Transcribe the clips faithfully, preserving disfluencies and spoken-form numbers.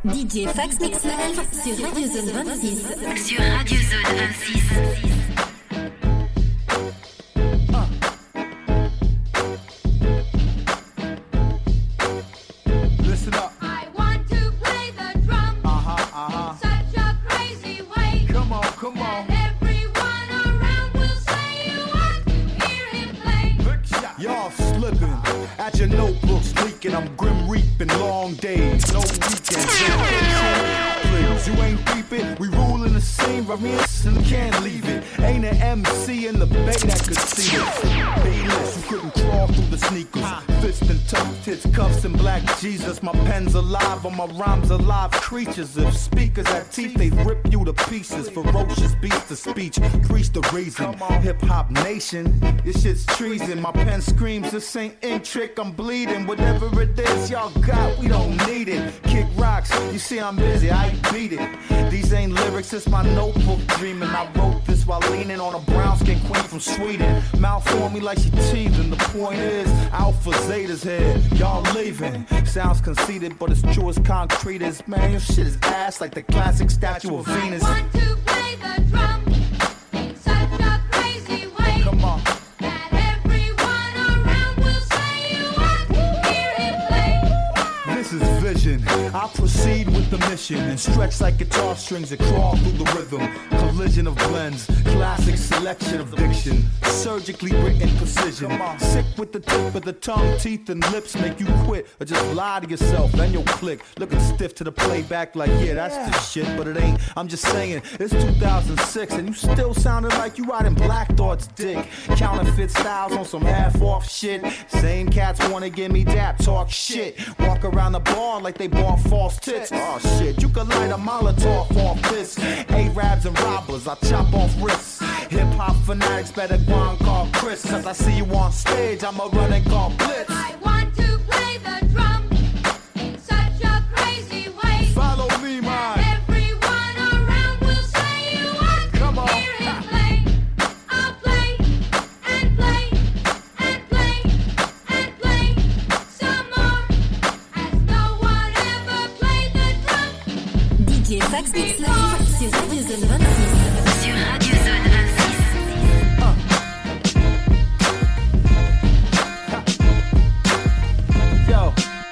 D J Fax Mix Live sur Radio Zone vingt-six. Sur Radio Zone vingt-six. I'm grim reaping long days, no weekends. You ain't peeping, we ruling the scene, Ramirez and can't leave it. Ain't an M C in the bay that could see it. Bayless, you couldn't crawl through the sneakers. Fist and tough tits, cuffs and black Jesus. My pen's alive, on my rhymes alive creatures. If speakers had teeth, they'd rip you to pieces. Ferocious beats of speech, preach the reason. Hip hop nation, this shit's treason. My pen screams, this ain't ink trick, I'm bleeding. Whatever it is y'all got, we don't need it. Kick rocks, you see I'm busy, I beat it. These ain't lyrics, it's my notebook dreaming. I wrote this while leaning on a brown skin queen from Sweden. Mouth on me like she teething. The point is, Alpha Zeta's here, y'all leaving. Sounds conceited, but it's true as concrete as, man, your shit is ass like the classic statue of Venus. I want to play the drum in such a crazy way. Come on. That everyone around will say you want to hear him play. This is vision. I proceed with the mission and stretch like guitar strings that crawl through the rhythm. Collision of blends, classic selection of diction, surgically written precision. Sick with the tip of the tongue, teeth and lips make you quit or just lie to yourself, then you'll click. Looking stiff to the playback like, yeah, that's the shit, but it ain't. I'm just saying, it's two thousand six and you still sounding like you riding Black Thought's dick. Counterfeit styles on some half-off shit. Same cats wanna give me dap, talk shit. Walk around the bar like they bought false tits. Oh shit, you could light a Molotov off this. Arabs and robbers, I chop off wrists. Hip-hop fanatics better go and call Chris. Cause I see you on stage, I'ma run and call Blitz. I want to play the drum in such a crazy way. Follow me, man. Everyone around will say you want Come on. to hear him play. I'll play and play and play and play some more. As no one ever played the drum. D J Fax Mix Live sur Radio Zone vingt-six. Sur Radio Zone vingt-six. Yo.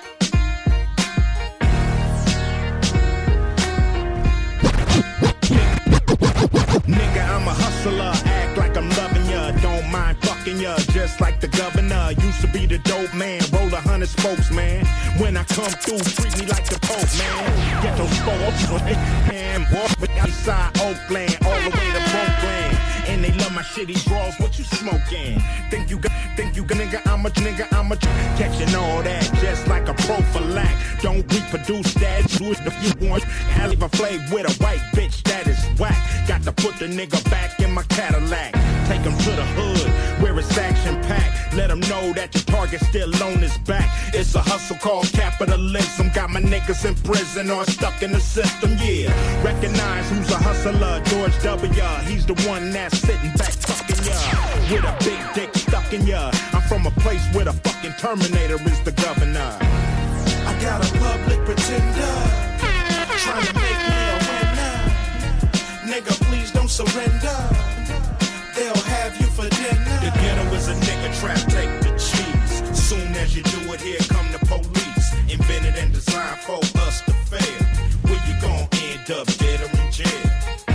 Nigga, I'm a hustler, act like I'm loving ya. Don't mind fucking ya, just like the governor. Used to be the dope man, roll a hundred spokes, man. When I come through, treat me like the Pope, man. Get those spokes, and walk with outside Oakland, all the way to Brooklyn. And they love my shitty draws, what you smoking? Think you got, think you got, nigga, I'm a nigga, I'm a catching all that, just like a prophylact. Don't reproduce that, do it if you want. I leave a flame with a white bitch that is whack. Got to put the nigga back in my Cadillac. Take him to the hood, where it's action packed. Let him know that your target's still on his back. It's a hustle called capitalism. Got my niggas in prison or stuck in the system, yeah. Recognize who's a hustler, George W. He's the one that's sitting back fucking ya with a big dick stuck in ya. I'm from a place where the fucking Terminator is the governor. I got a public pretender trying to make me a winner. Nigga, please don't surrender. They'll have you for dinner. The ghetto is a nigga trap, take the cheese. Soon as you do it, here come the police. Invented and designed for us to fail. Where you gon' end up, dead or in jail?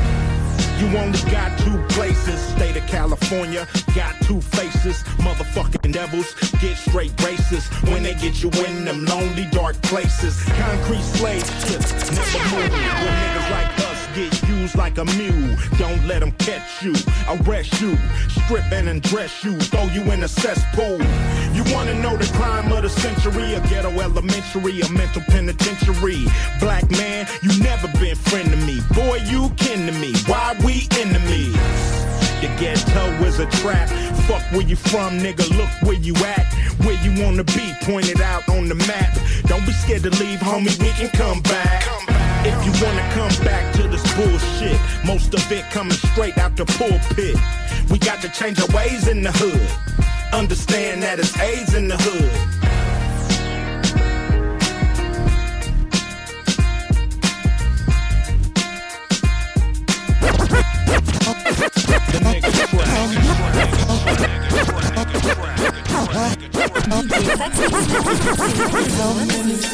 You only got two places, state of California, got two faces, motherfucking devils, get straight racist, when they get you in them lonely dark places, concrete slave ships, never move, when niggas like us get used like a mule, don't let them catch you, arrest you, strip and undress you, throw you in a cesspool. You wanna know the crime of the century, a ghetto elementary, a mental penitentiary, black man, you never been friend to me, boy you kin to me, why we enemies? The ghetto is a trap. Fuck where you from, nigga, look where you at. Where you wanna be, pointed out on the map. Don't be scared to leave, homie, we can come back. If you wanna come back to this bullshit, most of it coming straight out the pulpit. We got to change our ways in the hood. Understand that it's AIDS in the hood.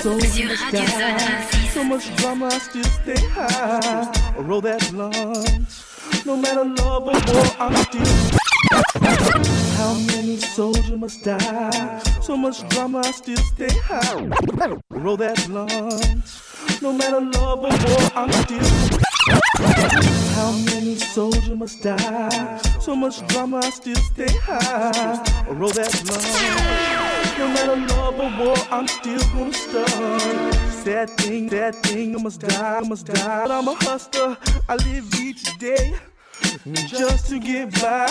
soldiers Sur must Radio Zone die. vingt-six. So much drama, I still stay high. Or roll that blunt. No matter love or war, I'm still. How many soldiers must die? So much drama, I still stay high. Roll that blunt. No matter love or war, I'm still. How many soldiers must die? So much drama, I still stay high. Roll that blunt. No matter love or war, I'm still gonna start. Sad thing, sad thing, I must die, I must die. But I'm a hustler, I live each day just to get by.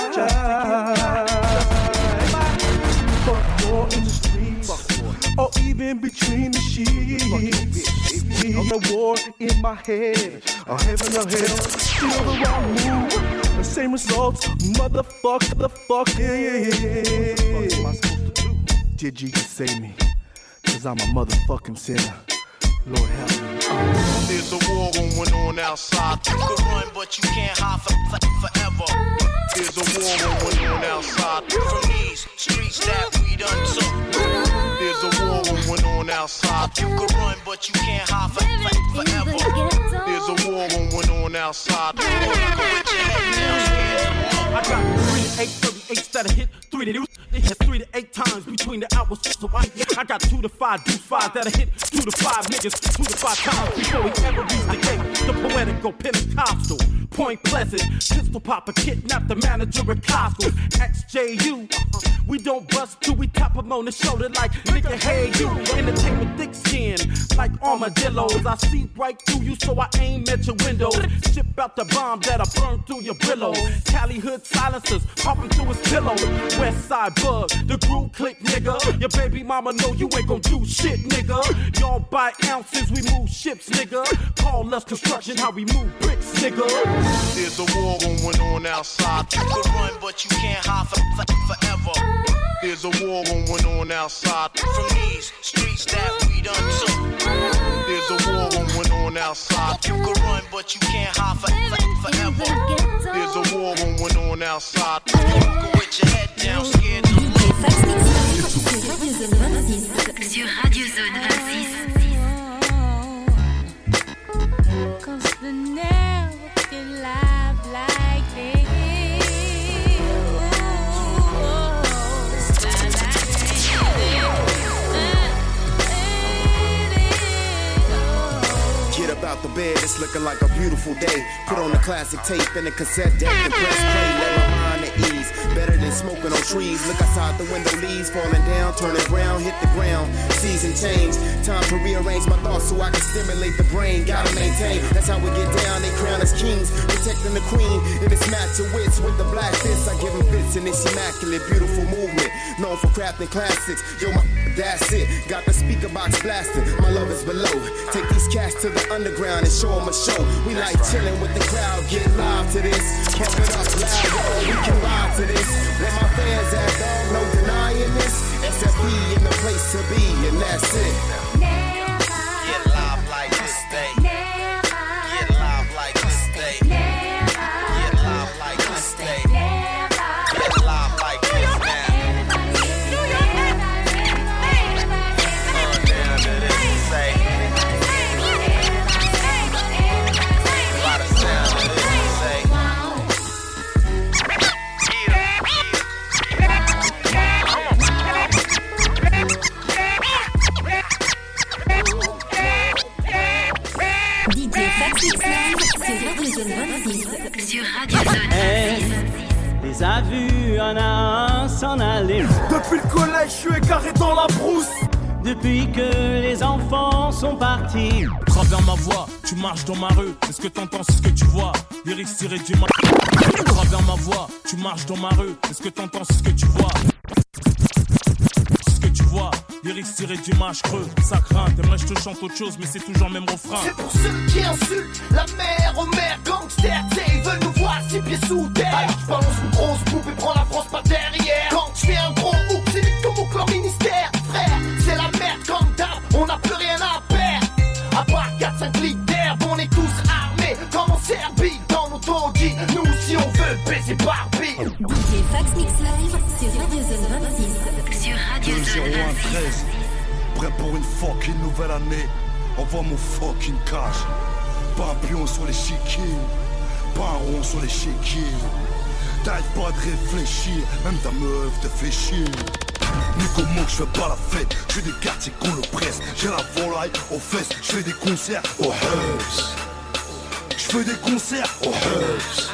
Fuck war in the streets, or even between the sheets. On the war in my head, or heaven or hell, still the wrong move. The same results, motherfucker, the fuck, yeah, yeah, yeah. What am I supposed to do? Did Jesus save me? Cause I'm a motherfucking sinner. Lord help me. There's a war going on outside. You can run, but you can't hide for, for, forever. There's a war going on outside. From these streets that we done took. There's a war going on outside. You can run, but you can't hide for, for, forever. There's a war going on outside. Put your head down, scared. I got three to eight thirty-eights that I hit three to eight. It hit three to eight times between the hours. So I, I got two to five deuce five that I hit two to five niggas two to five times before we ever reach the gate. The poetical Pentecostal, Point Pleasant, pistol popper kidnapped the manager at Costco. X J U, we don't bust till we tap him on the shoulder like nigga, hey you. Entertainment thick skin like armadillos. I see right through you, so I aim at your window. Ship out the bomb that'll burn through your brillo. Cali hood silencers popping through his pillow. West side bug, the groove click, nigga. Your baby mama know you ain't gon' do shit, nigga. Y'all buy ounces, we move ships, nigga. Call us construction, how we move bricks, nigga. There's a war going on outside. You can run, but you can't hide for, for, forever. There's a war going on outside. From these streets that we done took. There's a war going on outside. You can run, but you can't hide for, for, forever. There's a war going on outside. Walk with your head down, scared to D J Fax Mix Live sur Radio Zone vingt-six. Sur Radio Zone vingt-six. Cause the never can live like this. Get up out the bed, it's looking like a beautiful day. Put on a classic tape and a cassette deck and press play. Let my mind at ease, better than smoking on trees. Look outside the window, leaves falling down, turning brown, hit the ground. Season change, time to rearrange my thoughts so I can stimulate the brain. Gotta maintain, that's how we get down. They crown us kings, protecting the queen. It is match your wits with the black fist. I give them fits in this immaculate, beautiful movement. Known for crafting classics. Yo, my, that's it. Got the speaker box blasting. My love is below. Take these cats to the underground and show them a show. We like chilling with the crowd. Get live to this. Pump it up loud. Oh, we can ride to this. Let my fans at dog, no denying this. S F P in the place to be, and that's it. get live like this day. Get live like this day. Get live like this day. Get live like this now. On down to this say. By the sound of this say. D J Fax Mix Live sur Radio Zone vingt-six. Sur Radio Zone vingt-six. Les a vus un à un s'en aller. Depuis le collège, je suis égaré dans la brousse. Depuis que les enfants sont partis. Travers ma voix, tu marches dans ma rue. Est-ce que t'entends ce que tu vois? Lyrics tirés du ma... Travers ma voix, tu marches dans ma rue. Est-ce que t'entends ce que tu vois? Ce que tu vois, lyrics tirés du match creux. Ça craint, t'aimerais je te chante autre chose, mais c'est toujours le même refrain. C'est pour ceux qui insultent la mère aux mères gangsters. Ils veulent nous voir six pieds sous terre. Alors je balance une grosse poupe et prends la France par derrière. Quand je fais un gros hook, c'est vite comme au corps ministère. Frère, c'est la merde comme d'hab, on n'a plus rien à perdre. À part quatre cinq litres d'herbe, on est tous armés comme en Serbie. Dans nos taudis, nous si on veut baiser Barbie. D J Fax Mix Live sur Radio Zone vingt-six. Sur Radio Zone vingt-six. Prêt pour une fucking nouvelle année. Envoie mon fucking cash. Pas un pion sur l'échiquier, pas un rond sur l'échiquier. T'arrêtes pas de réfléchir, même ta meuf te fait chier. Mais comment je fais pas la fête? Je fais des quartiers qu'on le presse. J'ai la volaille aux fesses, je fais des concerts aux Hubs. Je fais des concerts aux Hubs.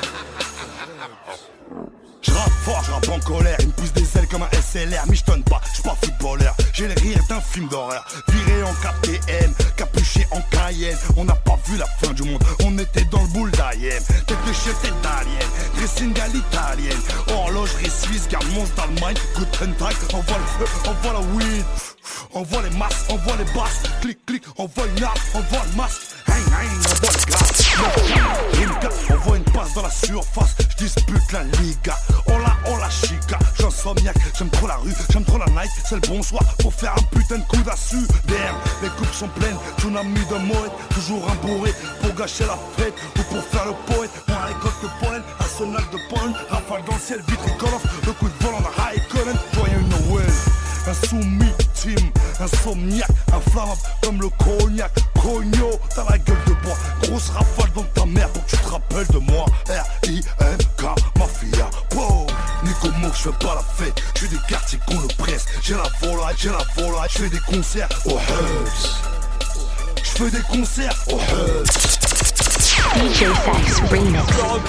Je rappe fort, je rappe en colère. Il me pousse des ailes comme un S L R. Mais je tonne pas, je suis pas footballeur. J'ai les rires d'un film d'horreur. Viré en K T M, capuché en Cayenne. On n'a pas vu la fin du monde, on était dans le boule d'Ayem. Tête de chef, tête d'alien, dressing à l'italienne. Horlogerie suisse, garde monstre d'Allemagne. Guten Tag, envoie le feu, envoie la weed. Envoie les masses, envoie les basses. Clic, clic, envoie une arme, envoie le masque. Hein, hein, envoie le gaz. Envoie une passe dans la surface. Je dispute la Liga. Oh la, oh la chica. J'insomniaque, j'aime trop la rue, j'aime trop la night. C'est le bonsoir pour faire un putain de coup d'assu. Damn, les coupes sont pleines. Tsunami de moët, toujours un bourré. Pour gâcher la fête ou pour faire le poète. Moi, récolte de pollen, arsenal de pollen. Rafale dans le ciel, vitricolore. Le coup de vol en a high current. Joyeux Noël. Un soumis team, insomniaque, inflammable comme le cognac. Cogno, t'as la gueule de bois. Grosse rafale dans ta mère pour que tu te rappelles de moi. R I M K, mafia, wow. Ni comment je fais pas la fête. Je fais des quartiers qu'on le presse. J'ai la volaille, j'ai la volaille. Je fais des concerts aux Hubs. Je fais des concerts aux Hubs. D J Sax Remix.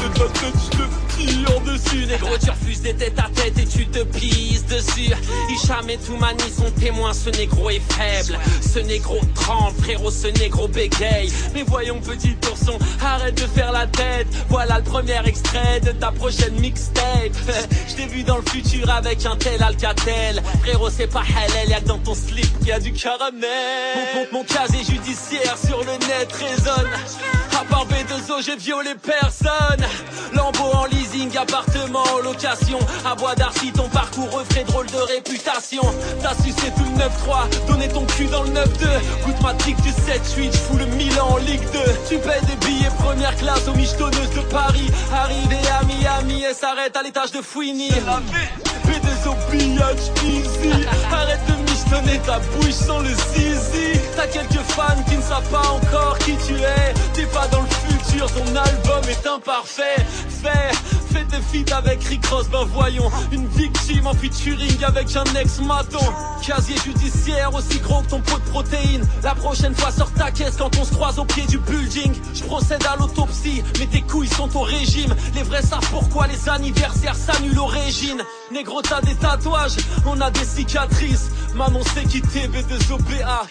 Tire dessus, négro, tu refuses des têtes à tête et tu te pisses dessus. Hicham et Toumani sont témoins, ce négro est faible. Ce négro tremble, frérot, ce négro bégaye. Mais voyons, petit ourson, arrête de faire la tête. Voilà le premier extrait de ta prochaine mixtape. Je t'ai vu dans le futur avec un tel Alcatel. Frérot, c'est pas halal, y'a que dans ton slip qu'il y a du caramel. Mon, mon, mon casier judiciaire sur le net résonne. À part B deux O, j'ai violé personne. Lambeau en leasing, appartement en location. À Bois d'Arcy, ton parcours refrait drôle de réputation. T'as sucé tout le neuf trois, donné ton cul dans le neuf deux. Goûte ma tic du sept huit, j'fous le Milan en Ligue deux. Tu payes des billets première classe aux michetonneuses de Paris. Arrivé à Miami et s'arrête à l'étage de Fouini. B deux O pillage easy. Arrête de michetonner ta bouche sans le zizi. T'as quelques fans qui ne savent pas encore qui tu es. T'es pas dans le futur, ton album est imparfait. Fais, fais tes feats avec Rick Ross, ben voyons. Une victime en featuring avec un ex-maton. Casier judiciaire aussi gros que ton pot de protéines. La prochaine fois sors ta caisse quand on se croise au pied du building. Je procède à l'autopsie, mais tes couilles sont au régime. Les vrais savent pourquoi les anniversaires s'annulent au régime. Négro, t'as des tatouages, on a des cicatrices. Manon s'est quitté, B deux O B A.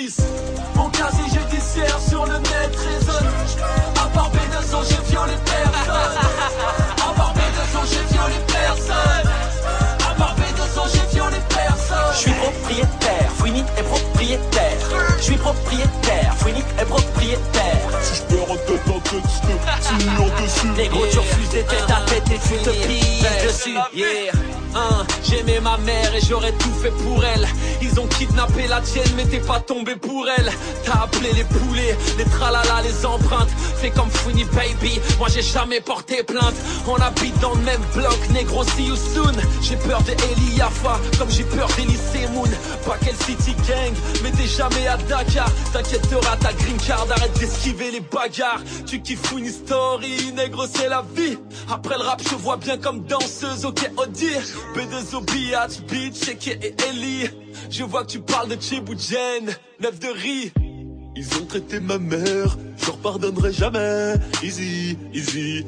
Mon casier judiciaire sur le net résonne. À part B deux O, j'ai violé personne. À part B deux O, j'ai violé personne. À part B deux O, j'ai violé personne. Je suis propriétaire, Fouini est propriétaire. Je suis propriétaire, Fouini est propriétaire. Si je perds en tête en tête, je te tire dessus. Négro, tu refuses des têtes à tête et tu te pilles dessus. Yeah. Hein, j'aimais ma mère et j'aurais tout fait pour elle. Ils ont kidnappé la tienne mais t'es pas tombé pour elle. T'as appelé les poulets, les tralala, les empreintes. Fais comme Fouini baby, moi j'ai jamais porté plainte. On habite dans le même bloc, négro, see you soon. J'ai peur de Eli Yafa, comme j'ai peur d'Elysée Moon. Pas quel city gang, mais t'es jamais à Dakar. T'inquiète, t'auras ta green card, arrête d'esquiver les bagarres. Tu kiffes Fouini story, négro c'est la vie. Après le rap je vois bien comme danseuse, ok Audi. B deux O Biatch, Beach, Cheke et Ellie. Je vois que tu parles de Chiboujen, neuf de riz. Ils ont traité ma mère, je leur pardonnerai jamais. Easy, easy,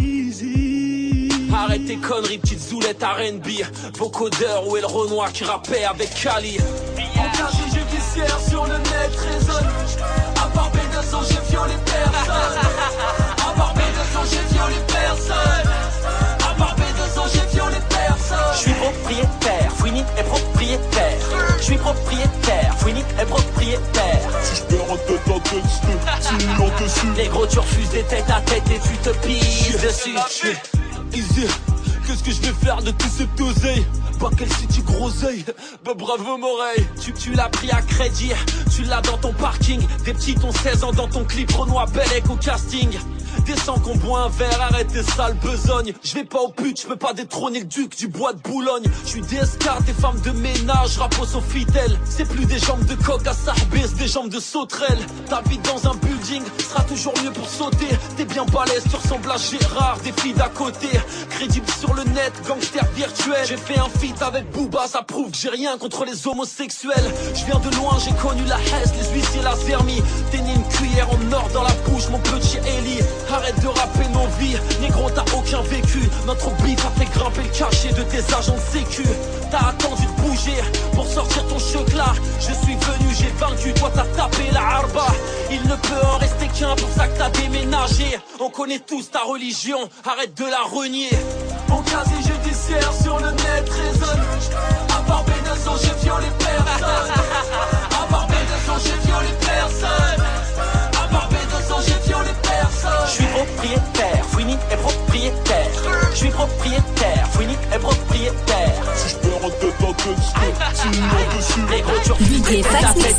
easy. Arrête tes conneries, petite zoulette R and B. Vocodeur, où est le Renoir qui rappait avec Kali. Mon casier judiciaire sur le net résonne. À part B deux O, j'ai violé personne. À part B deux O, j'ai violé personne. À part B deux O, j'ai violé personne. Je suis propriétaire, Fouini est propriétaire. Je suis propriétaire, Fouini est propriétaire. Si je perds en tête en tête, je te tire dessus. Négro, tu refuses des têtes à tête et tu te pilles dessus. Easy, qu'est-ce que je vais faire de tout cet oseille? Pas quel city groseille, bah bravo Moreille. Tu, tu l'as pris à crédit, tu l'as dans ton parking. Des petits ont seize ans dans ton clip Renoir Bellec au casting. Descends qu'on boit un verre, arrête tes sales besognes. Je vais pas au pute, je peux pas détrôner le duc du bois de Boulogne. Je suis des escarres, des femmes de ménage, rappos aux fidèles. C'est plus des jambes de coq à Sarbet, c'est des jambes de sauterelle. T'habites dans un building, sera toujours mieux pour sauter. T'es bien balèze, tu ressembles à Gérard, des filles d'à côté. Crédible sur le net, gangster virtuel. J'ai fait un feat avec Booba, ça prouve que j'ai rien contre les homosexuels. Je viens de loin, j'ai connu la Hesse, les huissiers, la Zermie. T'es né une cuillère en or dans la bouche, mon petit Eli. Arrête de rapper nos vies, négro t'as aucun vécu. Notre beat a fait grimper le cachet de tes agents de sécu. T'as attendu de bouger pour sortir ton chocla. Je suis venu, j'ai vaincu, toi t'as tapé la harba. Il ne peut en rester qu'un, pour ça que t'as déménagé. On connaît tous ta religion, arrête de la renier. Mon casier judiciaire sur le net résonne. À part B deux O, j'ai violé personne. À part B deux O, j'ai violé personne. À part B deux O, j'ai violé personne. Je suis propriétaire, Fouini est propriétaire. Je suis propriétaire, Fouini est propriétaire. Si je perds un tête à tête, sinon dessus. Les gros turcs, D J Fax Mix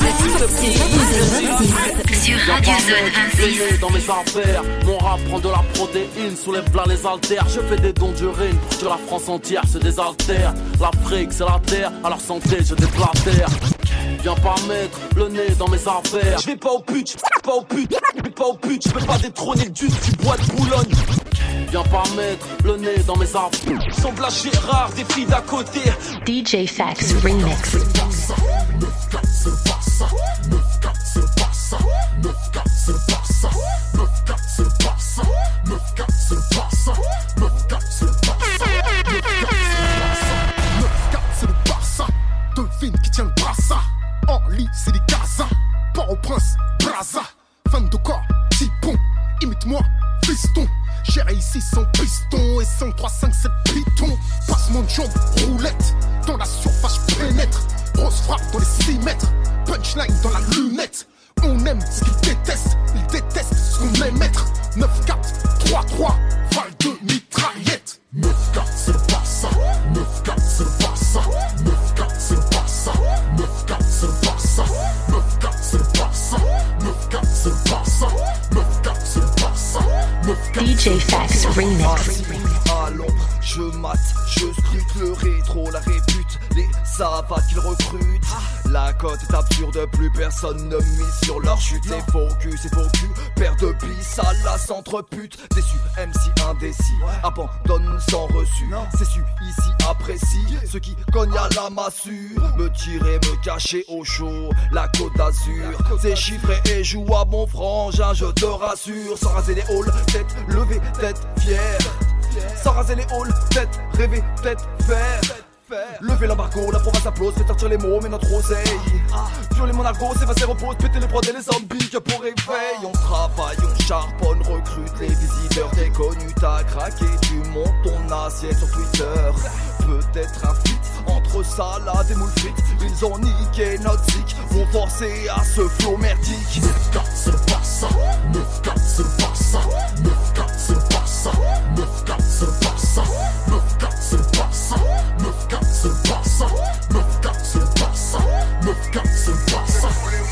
Live Sur Radio Zone vingt-six. Dans mes affaires, mon rap prend de la protéine, soulève là les haltères. Je fais des dons d'urine pour que la France entière se désaltère. L'Afrique c'est la terre, à leur santé je déblatère. Viens pas mettre le nez dans mes affaires. Je vais pas au pute, j'vais pas au pute, j'vais pas au pute. Je peux pas détrôner le duc du bois de Boulogne. Viens pas mettre le nez dans mes affaires. Semble à Gérard, des filles d'à côté. D J Fax Remix. Devine qui tient le brassard. En lit, c'est des Gaza. Port-au-Prince, Braza. Fan de corps, Tipon. Imite-moi, fiston. Géré ici sans piston et sans trois cinq sept pitons. Passement de jambes, roulette. Dans la surface, pénètre. Grosse frappe dans les six mètres. Punchline dans la lunette. On aime ce qu'ils détestent. Ils détestent ce qu'on aime être. neuf quatre, trois trois. Val de mitraillette. neuf quatre, c'est pas ça. neuf quatre, c'est pas ça. neuf quatre, c'est pas ça. neuf quatre, c'est pas ça. neuf quatre, c'est pas ça. neuf quatre, c'est pas ça. neuf quatre, c'est pas ça. D J Fax Remix. À l'ombre, je mate, je scrute le rétro, la répute, les savates qu'ils recrutent. La cote est absurde, plus personne ne mise sur leur chute. C'est faux cul, c'est faux cul, paire de billes, ça la centre-pute. Déçu, M C indécis, abandonne sans reçu. C'est su, ici apprécie, ceux qui cognent à la massue. Me tirer, me cacher au chaud, la côte d'Azur. C'est chiffré et joue à bon frangin, je te rassure. Sans raser les halls, tête levée, tête fière. Sans raser les halls, tête rêvée, tête faire. Levez l'embargo, la province applause, fait sortir les mots, mais notre oseille. Violer mon argot, s'effacer, repose, péter les prods et les zombies que pour réveil. On travaille, on charbonne, recrute les visiteurs. T'es connu, t'as craqué, tu montes ton assiette sur Twitter. Peut-être un fit entre salade et moules frites. Ils ont niqué notre zik, vont forcer à ce flow merdique. neuf quatre, c'est pas ça. neuf quatre, c'est pas ça. neuf quatre, c'est pas ça. neuf quatre, c'est pas ça. neuf quatre, c'est pas ça. neuf quatre, c'est pas ça. neuf quatre, c'est pas ça. neuf quatre, c'est pas ça.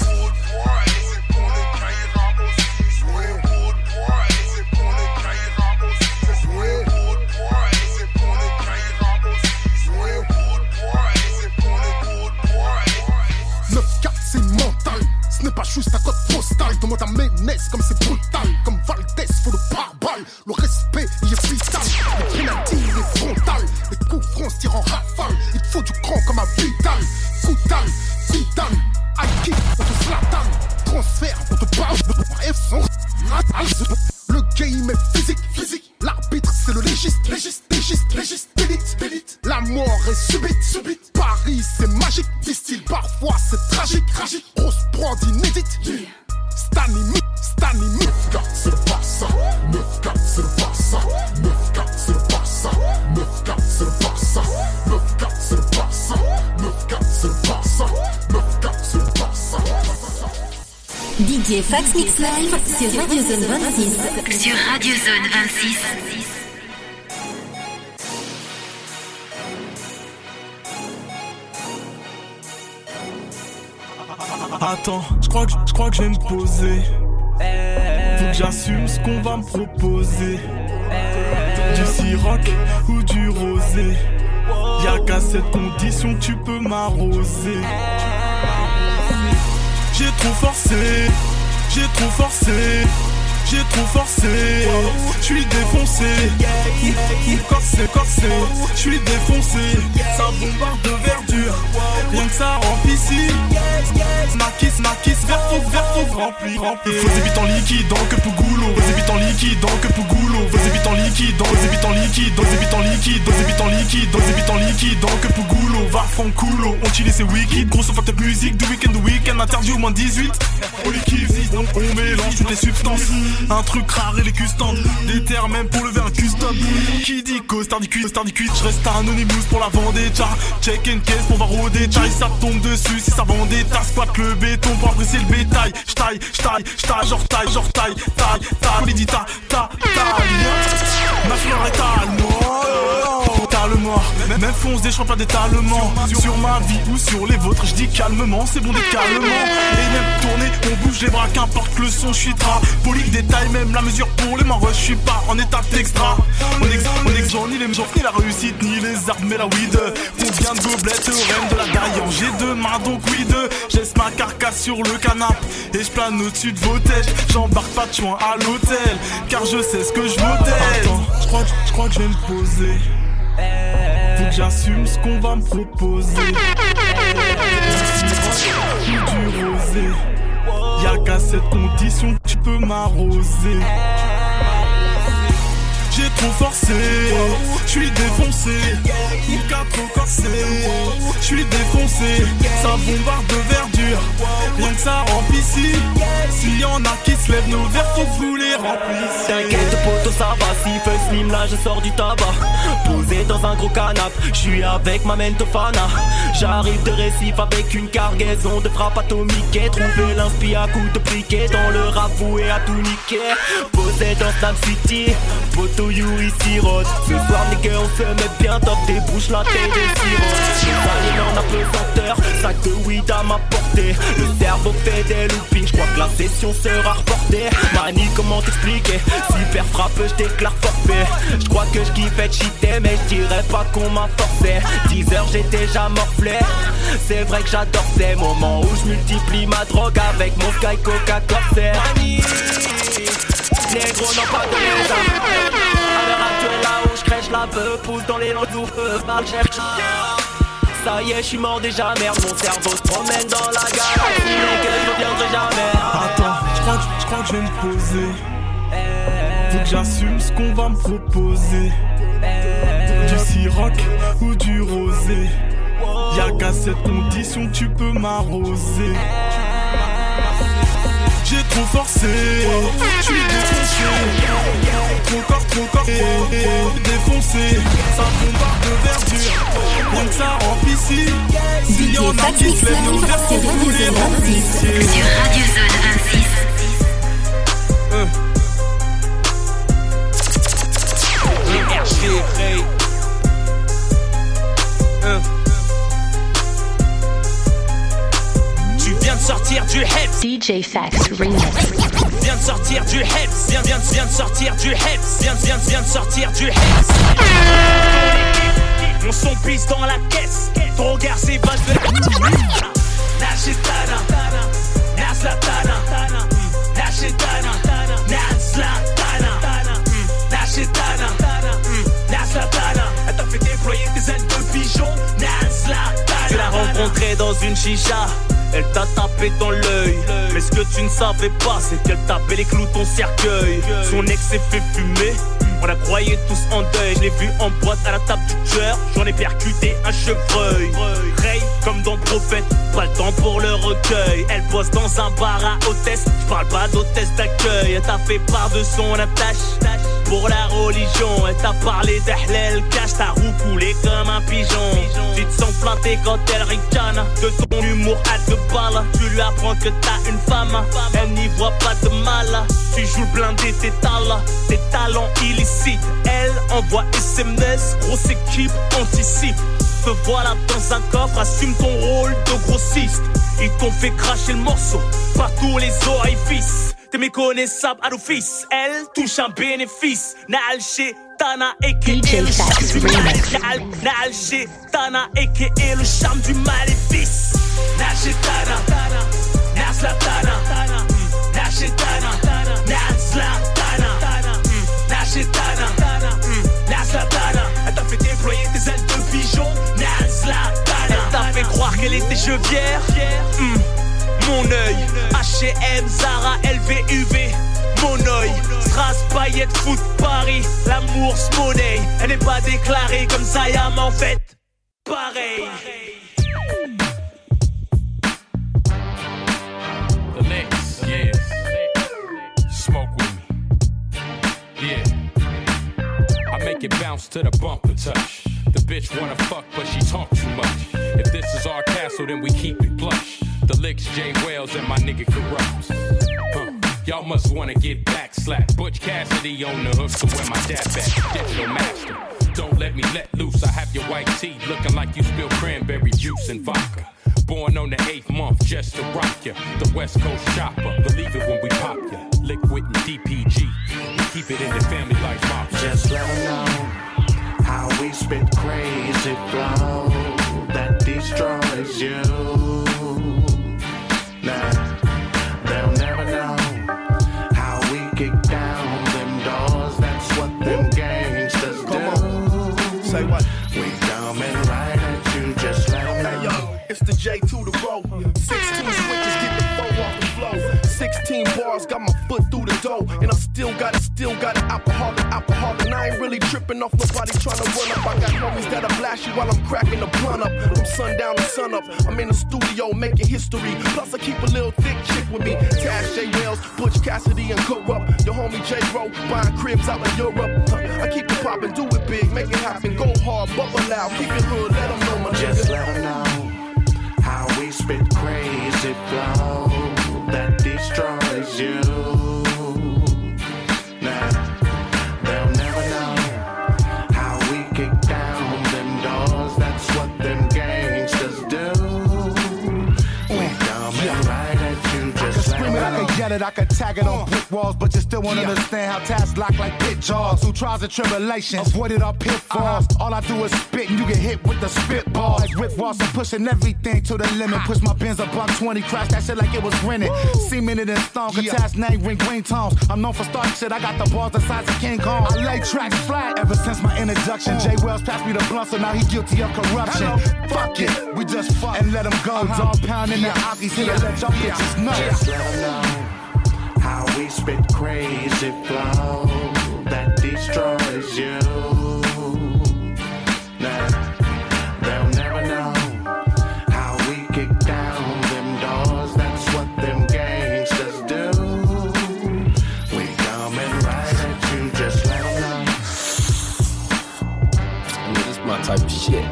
Ce n'est pas juste un code postal. Demande à Ménès comme c'est brutal. Comme Valdez, faut le pare-balles. Le respect, il est vital. Le pénalty, il est frontal. Les coups francs tirent en rafale. Il te faut du cran comme un Vidal. Coutal, Zidane, Aiki, on te flatane. Transfert, on te parle. Le game est physique, physique. L'arbitre, c'est le légiste, légiste, légiste, légiste, d'élite, d'élite. La mort est subite, subite. Paris, c'est magique, disent-ils. Parfois, c'est tragique, tragique. Grosse prod inédite. Yeah. Stanny, Stanny, neuf quatre, c'est pas ça. neuf quatre, c'est pas ça. neuf quatre, c'est pas ça. neuf quatre, c'est pas ça. neuf quatre, c'est pas ça. neuf quatre, c'est pas ça. neuf quatre, c'est pas ça. D J Fax Mix Live sur Radio Zone vingt-six. Sur Radio Zone vingt-six. Attends, je crois que je crois que je vais me poser. que j'assume ce qu'on va me proposer. Du Ciroc ou du rosé. Y'a qu'à cette condition que tu peux m'arroser. J'ai trop forcé, j'ai trop forcé, j'ai trop forcé. J'suis défoncé, corsé, corsé. J'suis défoncé, ça bombarde de verdure. Rien que ça en piscine. Marquis, marquis, vert faux, vert faux, rempli, rempli. Vos habitants liquides dans que Pougoulou. Vos habitants liquides dans que Pougoulou. Vos habitants liquides dans, vos habitants liquides, vos habitants liquides, vos habitants liquides, vos habitants liquides dans que Pougoulou. Va fond coulo, on chill c'est wicked. Grosse fucked up musique, du week-end, du week-end, interdit au moins dix-huit. On les kiffe, donc on mélange toutes les substances. Un truc rare et les customs. Des terres même pour lever un custom. Qui dit cause, tardicus, tardicus. J'reste anonymous pour la vendetta. Check and case pour voir au détail. Ça tombe dessus si ça vendetta. Squat le béton pour apprécier le bétail. J'taille, j'taille, j'taille, genre taille, genre taille, taille, taille. Les dit ta, ta, taille. Ma fleur est allemand. Talement, même fonce des choix pas d'étalement. Sur ma vie ou sur les vôtres, j'dis calmement, c'est bon d'être calmement. Et même tourner, on bouge les bras, qu'importe le son, j'suis trapolique. Détail, même la mesure pour les mains, j'suis pas en état d'extra. On ex, on ex, ni les gens, ni la réussite, ni les armes, mais la weed. Combien de gobelettes, reine de la gaille, j'ai deux mains donc weed. J'laisse ma carcasse sur le canapé et j'plane au-dessus de vos têtes. J'embarque pas de joint à l'hôtel, car je sais ce que je m'hôtel. J'crois j'crois que je vais me poser. Faut que j'assume ce qu'on va me proposer. Du rosé. Y'a qu'à cette condition que tu peux m'arroser. J'ai trop forcé, j'suis défoncé. Ika trop corsé, j'suis défoncé. Ça bombarde de verdure, rien que ça en piscine. S'il y en a qui se lèvent, nos verres faut que vous les remplissez. T'inquiète poto ça va, si feu slim là je sors du tabac. Posé dans un gros canap, j'suis avec ma mentofana. J'arrive de Récif avec une cargaison de frappe atomique. Trouver l'inspi à coups de briquet dans le rap voué à tout niquer. Posé dans Snap City, poto you ici rose. Ce soir nigga on se met bien top, débouche la tête des sirops. Les aliens en apesanteur, sac de weed à ma portée. Le cerveau fait des loopings, j'crois que la session sera reportée. Mani comment t'expliquer, super frappe j'déclare forfait. J'crois que j'kiffais de cheater mais j'dirais pas qu'on m'a forcé. dix heures j'ai déjà morflé, c'est vrai que j'adore ces moments où j'multiplie ma drogue avec mon Sky Coca Corsé. Négro non pas de les âmes. À l'heure actuelle là où j'crèche la peu, pousse dans les langues où mal cherche. Ça y est j'suis mort déjà merde, mon cerveau se promène dans la galaxie. Mais que je reviendrai jamais. Attends, j'crois que, j'crois que je vais me poser. Faut que j'assume ce qu'on va me proposer. Du Ciroc ou du rosé. Y'a qu'à cette condition que tu peux m'arroser. J'ai trop forcé, j'suis défoncé. Trop corps, trop corps, défoncé. Ça bombarde de verdure, rien que ça en piscine. S'il y en a qui se lèvent, nos verres faut que vous les remplissiez. Sur Radio Zone vingt-six. euh. R G Ray. euh. Tu viens de sortir du Heps. D J Fax Remix. Viens de sortir du Heps. Viens, viens, viens de sortir du Heps. Viens, viens, viens de sortir du Heps. Mon son pisse dans la caisse. Ton regard s'évade de Nashetana, Naslatana, Nashetana, Naslatana, Nashetana, Naslatana. Elle t'a fait déployer tes ailes de pigeon. Naslatana. Tu l'as rencontrée dans une chicha. Elle t'a tapé dans l'œil. Mais ce que tu ne savais pas, c'est qu'elle tapait les clous ton cercueil. Son ex s'est fait fumer, on la croyait tous en deuil. Je l'ai vu en boîte à la table du tueur, j'en ai percuté un chevreuil. Ray, comme dans Prophète, pas le temps pour le recueil. Elle bosse dans un bar à hôtesse, j'parle pas d'hôtesse d'accueil. Elle t'a fait part de son attache pour la religion. Elle t'a parlé d'Ahlel cache, t'as roucoulé comme un pigeon. Tu te sens planté quand elle ricane de ton humour à deux balles. Tu lui apprends que t'as une femme, elle n'y voit pas de mal. Tu joues le blindé, tes talents, tes talents illicites. Elle envoie S M S, grosse équipe anticipe. Te voilà dans un coffre, assume ton rôle de grossiste. Ils t'ont fait cracher le morceau par tous les orifices. t'es méconnaissable à l'office. Elle touche un bénéfice. Nalché, Tana, aka le charme du maléfice. Nalché, Tana, aka le charme du maléfice. Nalché, Tana, Nasla, Tana, Nalché, Tana, Nasla, Tana, Nalché, Tana, Nasla, Tana. Elle t'a fait déployer tes ailes de pigeon. Nasla, Tana. Elle t'a fait croire qu'elle était chevière. Mm. Mon œil, H et M, Zara, L V, U V. Mon œil, Strass, Payette, Foot, Paris. L'amour, monnaie. Elle n'est pas déclarée comme Zayam en fait. Pareil. The next, yeah. Smoke with me. Yeah. I make it bounce to the bumper touch. The bitch wanna fuck, but she talk too much. If this is our castle, then we keep it plush. The licks, Jay Wells, and my nigga Corrupt. Huh. Y'all must wanna get back slapped. Butch Cassidy on the hook, so where my dad back? Digital master. Don't let me let loose. I have your white tee looking like you spilled cranberry juice and vodka. Born on the eighth month just to rock ya. The West Coast chopper. Believe it when we pop ya. Liquid and D P G. We keep it in the family like mom. Just let them know how we spit crazy flow that destroys you. Nah, they'll never know how we kick down them doors. That's what them gangsters do. Say what? We coming right at you, just let them know. Hey yo, it's the J to the row. sixteen switches, get the four off the flow. sixteen bars, got my foot through the door. And I still got it, still got it, alcoholic, alcoholic. And I ain't really tripping off nobody trying to run up. I got homies that'll blast you while I'm cracking the blunt up. From sundown to sun up, I'm in the studio making history. Plus I keep a little thick chick with me. Tash, J Wells, Butch Cassidy, and Corrupt. Your homie J Ro, buying cribs out in Europe. Huh, I keep it poppin', do it big, make it happen. Go hard, bubble loud, keep it hood, let them know my Just nigga. let them know how we spit crazy flow that destroys you. Nah, they'll never know how we kick down them doors. That's what them gangsters do. We coming right at you, just let them know. I can yell it, I can tag it on brick walls, but you still won't yeah. understand how tasks lock like pit jaws. Through trials and tribulations, avoided our pitfalls. Uh-huh. All I do is spit and you get hit with the spitball. Like Rick Ross, I'm pushing everything to the limit. Push my Benz a buck twenty, crash that shit like it was rented. Cemented in stone, Kataz name, ring green tones. I'm known for starting shit, I got the balls the size of King Kong. I lay tracks flat ever since my introduction. Jay Wells passed me the blunt, so now he guilty of corruption. Hello. Fuck it, we just fuck and let him go. Uh-huh. Dog pounding yeah. the Akis here yeah. to let y'all yeah. bitches know. Just let them know how we spit crazy flow that destroys you. Nah, they'll never know how we kick down them doors. That's what them gangsters do. We coming right at you, just let them know. I mean, this is my type of shit.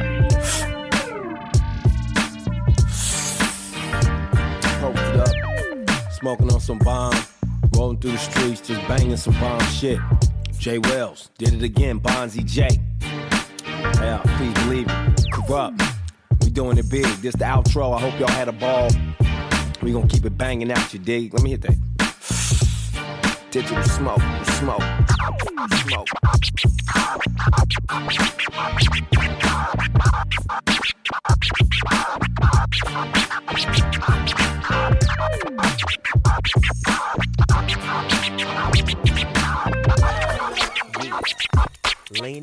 Poked it up, smoking on some bomb, rolling through the streets, just banging some bomb shit. Jay Wells did it again, Bonzi J. Yeah, please believe it. Corrupt. We doing it big. This the outro. I hope y'all had a ball. We gonna keep it banging out, you dig? Let me hit that. Digital smoke, smoke, smoke. D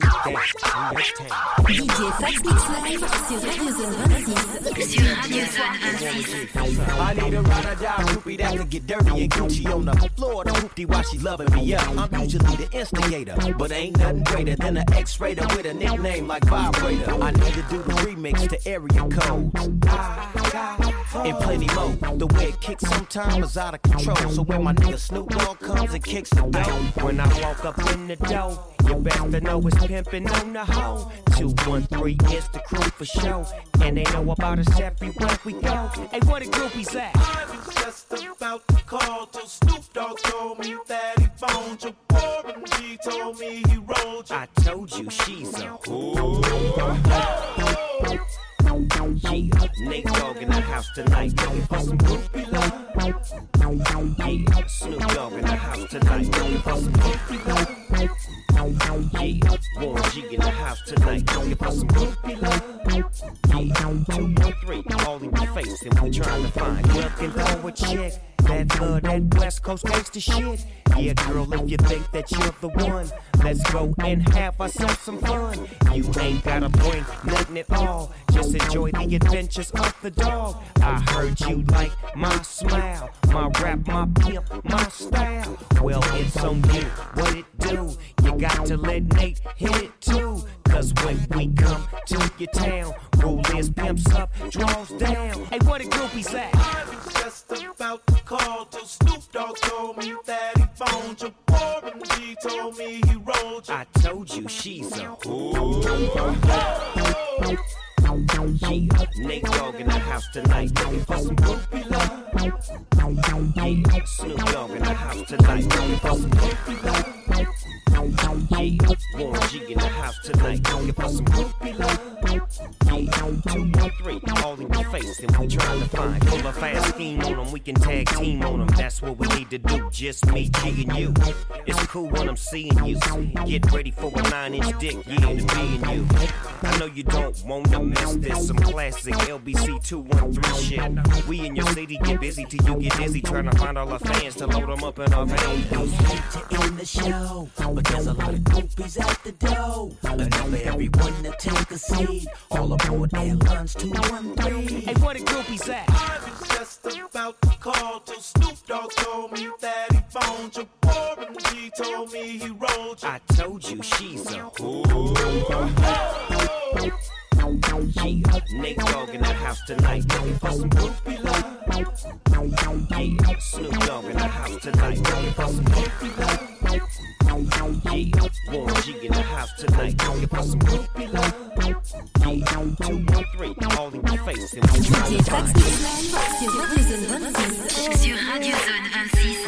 J Fax Mix Live sur Radio Zone vingt-six. Sur Radio Zone vingt-six. I need a ride or die groupie that can get dirty and Gucci on the floor. The hoopty while she loving me up. I'm usually the instigator, but ain't nothing greater than an X-rater with a nickname like Vibrator. I need to do the remix to area codes. And plenty more. The way it kicks sometimes is out of control. So when my nigga Snoop Dogg comes and kicks the door, when I walk up in the door, you best to know it's pimpin' on the hoe. two one three is the crew for show. And they know about us everywhere we go. Hey, where the groupies at? I was just about to call till Snoop Dogg told me that he phoned you. Warren G told me he rolled you. I told you she's a ooh. Yeah, Nate Dogg in the house tonight, looking for some groupie love. Yeah, Snoop tonight. Looking for some groupie love. Yeah, Warren G in the house tonight. Looking for some groupie love. Yeah, two one three, all in your face, and we trying to find. Looking for a chick that love that West Coast gangsta shit. Yeah, girl, if you think that you're the one, let's go and have ourselves some fun. You ain't gotta bring nothing at all, just enjoy the adventures of the dog. I heard you like my smile, my rap, my pimp, my style. Well, it's on you, what it do? You got to let Nate hit it too. Cause when we come to your town, rule is pimps up, draws down. Hey, what a groupies at? I was just about to call till Snoop Dogg told me that he phoned you. Warren G told me he rolled you. I told you she's a whore. Yeah, Nate Dogg in the house tonight, looking for some groupie love. Yeah, Snoop Dogg in the house tonight, looking for some groupie love. Yeah, Warren G in the house tonight, looking for some groupie love. Yeah, two one three, all in your face, and we trying to find. Pull a fast scheme on them, we can tag team on them. That's what we need to do, just me, G and you. It's cool when I'm seeing you. Get ready for a nine inch dick, yeah, to me and you. I know you don't wanna miss this, some classic L B C two one three shit. We in your city get busy till you get dizzy, trying to find all our fans to load them up in our vans. Hate to end the show, but there's a lot of groupies at the door. Enough for everyone to take a seat. All aboard Airlines two one three. Hey, what a groupies at? I was just about to call till Snoop Dogg told me that he phoned you. Warren G told me he rolled you. I told you she's a whore. Yeah, Nate Dogg in the house tonight, looking for some groupie love. Yeah, Snoop Dogg in the house tonight, looking for some groupie love. Yeah, Warren G in the house tonight, looking for some groupie love. Yeah, two one three, all in your face, and we trying to find. Sur Radio Zone vingt-six.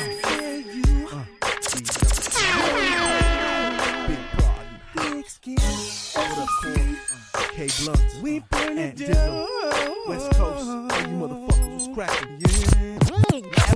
K Blunt, we burn it down. West Coast, you motherfuckers was cracking. Yeah.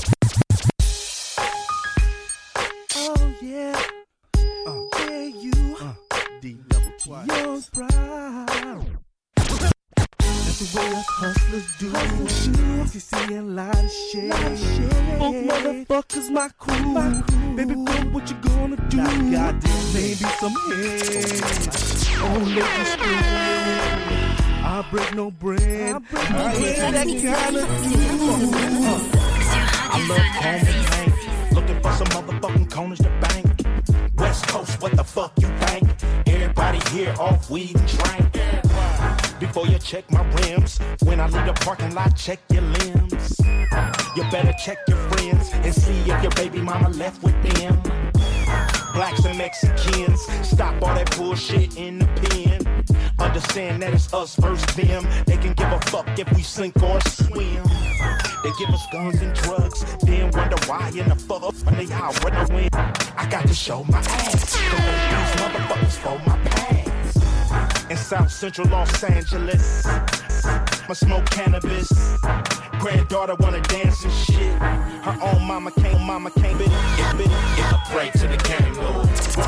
Oh yeah. Uh, yeah, you. Uh, D double twice. Young proud. That's the way us hustlers do. Hustlers do. You see a lot of shit. Both motherfuckers, my crew. my crew. Baby girl, what you gonna do? Nah, goddamn, maybe some head. Oh, look at screw. I break no bread. I, break no I bread. Ain't that kind of I love home and looking for some motherfucking corners to bank. West Coast, what the fuck you think? Everybody here off weed and drink. Before you check my rims, when I leave the parking lot, check your limbs. You better check your friends and see if your baby mama left with them. Blacks and Mexicans, stop all that bullshit in the pen. Understand that it's us versus them. They can give a fuck if we sink or swim. They give us guns and drugs, then wonder why in the fuck up when they out when I win. I got to show my ass. Don't let these motherfuckers for my past. In South Central Los Angeles, I smoke cannabis. Granddaughter wanna dance and shit. Her own mama can't, mama can't bit it, bit it. Pray to the game, Lord.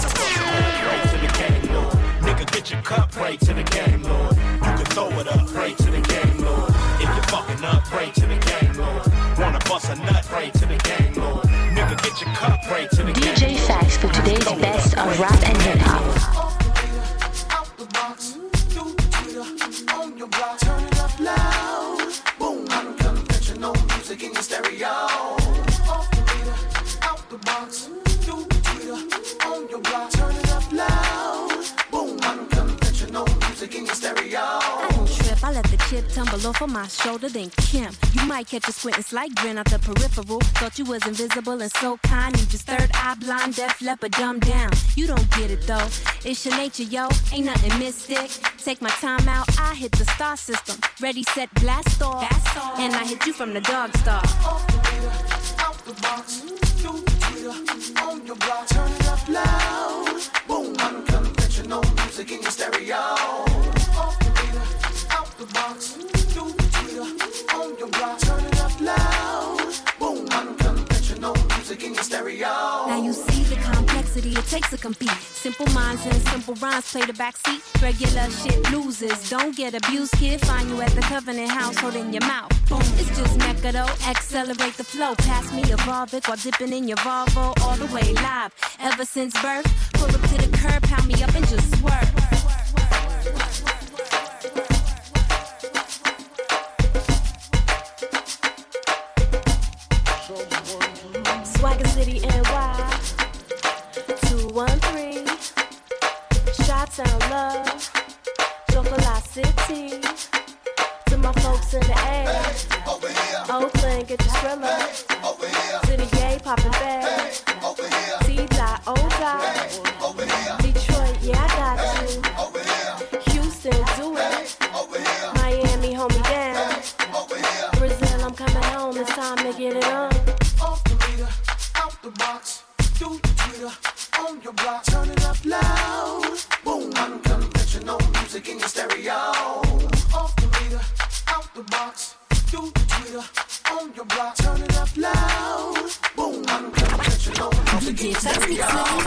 Pray to the game, Lord. Nigga, get your cup, pray to the game, Lord. You can throw it up, pray to the game, Lord. If you're fucking up, pray to the game, Lord. Wanna bust a nut, pray to the game, Lord. Nigga, get your cup, pray to the game. D J Fax for today's best of rap and hip hop. Out the box, do Twitter on your block, turn it up loud. Boom, unconventional music in your stereo. Off the meter, out the box, do Twitter on your block, turn it up loud. Boom, unconventional music in your stereo. I don't trip, I let the chip tumble off of my shoulder, then Kim. You might catch a squint, it's like grin out the peripheral. Thought you was invisible and so kind. You just third eye blind, deaf, leopard, dumb down. You don't get it though, it's your nature, yo. Ain't nothing mystic. Take my time out, I hit the star system. Ready, set, blast off. And I hit you from the dog star. Off the meter, out the box, do Twitter on your block, turn it up loud. Boom, unconventional music in your stereo. Off the meter, out the box, do Twitter on your block, turn it up loud. Boom, unconventional music music in your stereo. Now you see the complexity it takes to compete. Simple minds and simple rhymes play the backseat. Regular shit loses. Don't get abused, kid. Find you at the Covenant House holding your mouth. Boom. It's just Mecca though. Accelerate the flow. Pass me a Volvic while dipping in your Volvo all the way live. Ever since birth, pull up to the curb, pound me up and just swerve. Swagger City N Y two one three Chi-Town love Chocolate City. To my folks in the A, Oakland, get your thriller. City Gay, poppin' bag. T-Dot, O-Dot. Detroit, yeah, I got you. Houston, do it. Miami, hold me down. Brazil, I'm coming home. It's time to get it on. Off the meter, out the box, do the Twitter, on your block, turn it up loud. Boom, unconventional music in your stereo. Off the meter, out the box, do the Twitter, on your block, turn it up loud. Boom, unconventional music in your stereo.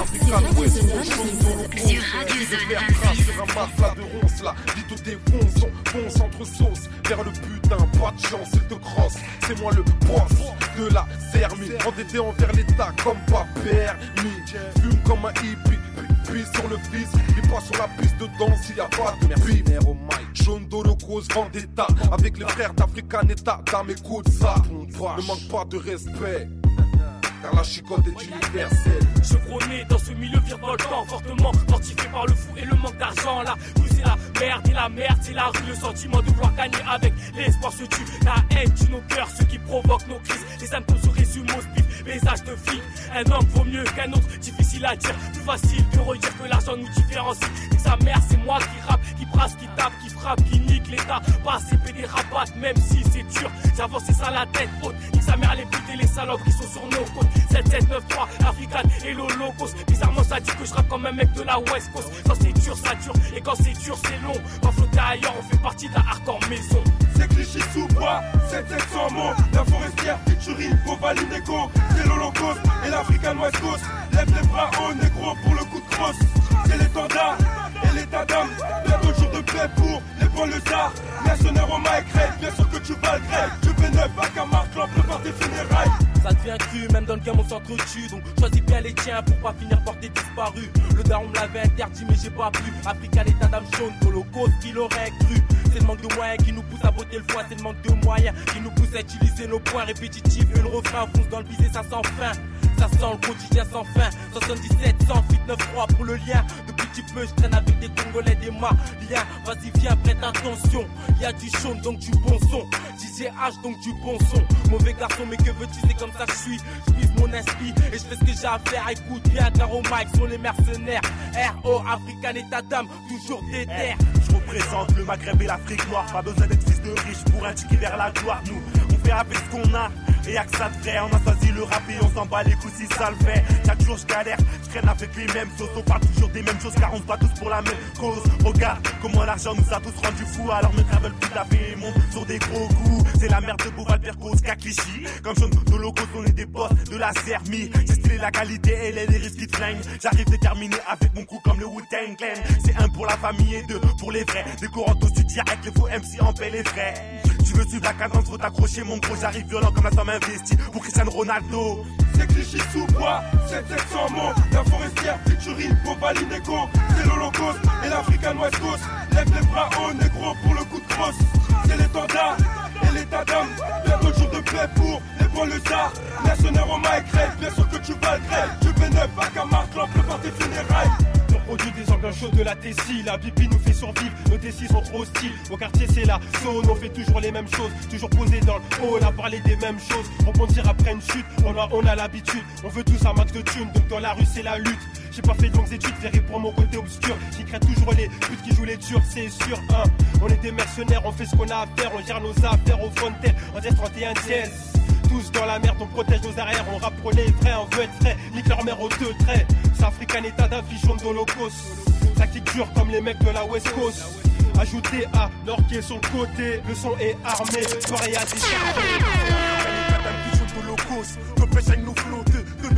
Sur Radio Zone vingt-six. Sur un matelas de ronces là, vite au défonce, on fonce entre sauces vers le putain, pas de chance, il te crosse. C'est moi le boss de la Zermie, endetté envers l'État comme pas permis. Fume comme un hippie, puis sur le fils, il passe sur la piste de danse, il y a pas de merci. Oh my, jaune d'Holocauste, Vendetta, avec les frères d'Africanetta, dame écoute ça, ne manque pas de respect. Car la chicote est universelle. Chevronné dans ce milieu virevoltant, fortement fortifié par le fou et le manque d'argent. Là, nous c'est la merde et la merde, c'est la rue. Le sentiment de vouloir gagner avec l'espoir se tue. La haine tue nos cœurs, ce qui provoque nos crises. Les symptômes se résument au spiff, message de flic. Un homme vaut mieux qu'un autre, difficile à dire. Plus facile de redire que l'argent nous différencie. Et sa mère, c'est moi qui rappe, qui brasse, qui tape, qui frappe, qui nique l'État. Pas C P D rabatte, même si c'est dur. J'avance, c'est ça la tête haute. Nique sa mère, les putes et les salopes qui sont sur nos côtes. sept sept neuf trois, African et l'Holocauste. Bizarrement ça dit que je rappe comme un mec de la West Coast. Quand c'est dur ça dure et quand c'est dur c'est long. Quand flotter ailleurs on fait partie d'un hardcore maison. C'est cliché sous bois, sept sept cents mots. La forestière, featuring, Bovaline Echo. C'est l'Holocauste et l'African West Coast. Lève les bras haut négro pour le coup de crosse. C'est l'étendard et l'état d'âme. Bientôt le jour de paix pour les banlieusards. Mercenaires au Mike Red, bien sûr que tu vas le grève. Je fais neuf à Camargue, prépare tes funérailles. Ça devient cru, même dans le game on s'entretue. Donc choisis bien les tiens pour pas finir par tes disparus. Le daron me l'avait interdit mais j'ai pas pu. African état d'âme jaune, Holocauste qu'il aurait cru. C'est le manque de moyens qui nous pousse à botter le foie. C'est le manque de moyens qui nous pousse à utiliser nos points répétitifs. Et le refrain fonce dans le visé, ça sans fin. Ça sent le quotidien sans fin. soixante-dix-sept, cent, huit, neuf, trois pour le lien. Depuis petit peu je traîne avec des Congolais, des Maliens. Vas-y viens, prête attention. Y'a du chaud donc du bon son. D J H donc du bon son. Mauvais garçon mais que veux-tu, c'est comme ça que je suis. Je puise mon esprit et je fais ce que j'ai à faire. Écoute bien car au mic sont les mercenaires. R O African état d'âme, toujours des terres. Je représente le Maghreb et l'Afrique noire. Pas besoin d'être fils de riche pour indiquer vers la gloire. Nous, on fait avec ce qu'on a. Et y'a que ça de vrai, on a choisi le rap et on s'en bat les coups si ça le fait. Chaque jour je galère, je traîne avec les mêmes choses. On parle toujours des mêmes choses car on se bat tous pour la même cause. Regarde comment l'argent nous a tous rendus fous. Alors me travel plus la paix et monte sur des gros coups. C'est la merde de Beauval, Percos, Kaklichi. Comme jaune de locaux, on est des boss de la Zermie. J'ai stylé la qualité et les risques qui te flinguent. J'arrive déterminé avec mon coup comme le Wu-Tang Clan. C'est un pour la famille et deux pour les vrais. Des courants aussi direct, les faux M C en paix les frais. Tu veux suivre la cadence, faut t'accrocher mon gros. J'arrive violent comme la somme investie pour Cristiano Ronaldo. C'est cliché sous bois, sept sept cents mots. La forestière, featuring, Bovaline Echo. C'est l'Holocauste et l'African West Coast. Lève les bras haut négro pour le coup de crosse. C'est l'étendard et l'état d'âme. Bientôt le jour de paix pour les banlieusards. Mercenaires au Mike Red, bien sûr que tu vas le grève. Je fais neuf à Camargue, prépare tes funérailles. Produit des ambiances chaudes de la Tessie. La pipi nous fait survivre, nos Tessis sont trop hostiles. Au quartier c'est la zone, on fait toujours les mêmes choses. Toujours posé dans le hall, à parler des mêmes choses. Rebondir après une chute, on a, on a l'habitude. On veut tous un max de thunes, donc dans la rue c'est la lutte. J'ai pas fait de longues études, verré pour mon côté obscur. J'y crée toujours les putes qui jouent les durs, c'est sûr hein. On est des mercenaires, on fait ce qu'on a à faire. On gère nos affaires au frontel, on dièse trente et un dièse. Tous dans la merde, on protège nos arrières. On rappe pour les vrais, on veut être frais. Nique leur mère aux deux traits. C'est African état d'affichon d'Holocauste. Tactique dure comme les mecs de la West Coast. Ajouté à Nord qui est sur le côté. Le son est armé, soirée à des charges. L'Holocauste, que pêche avec nos flots de, de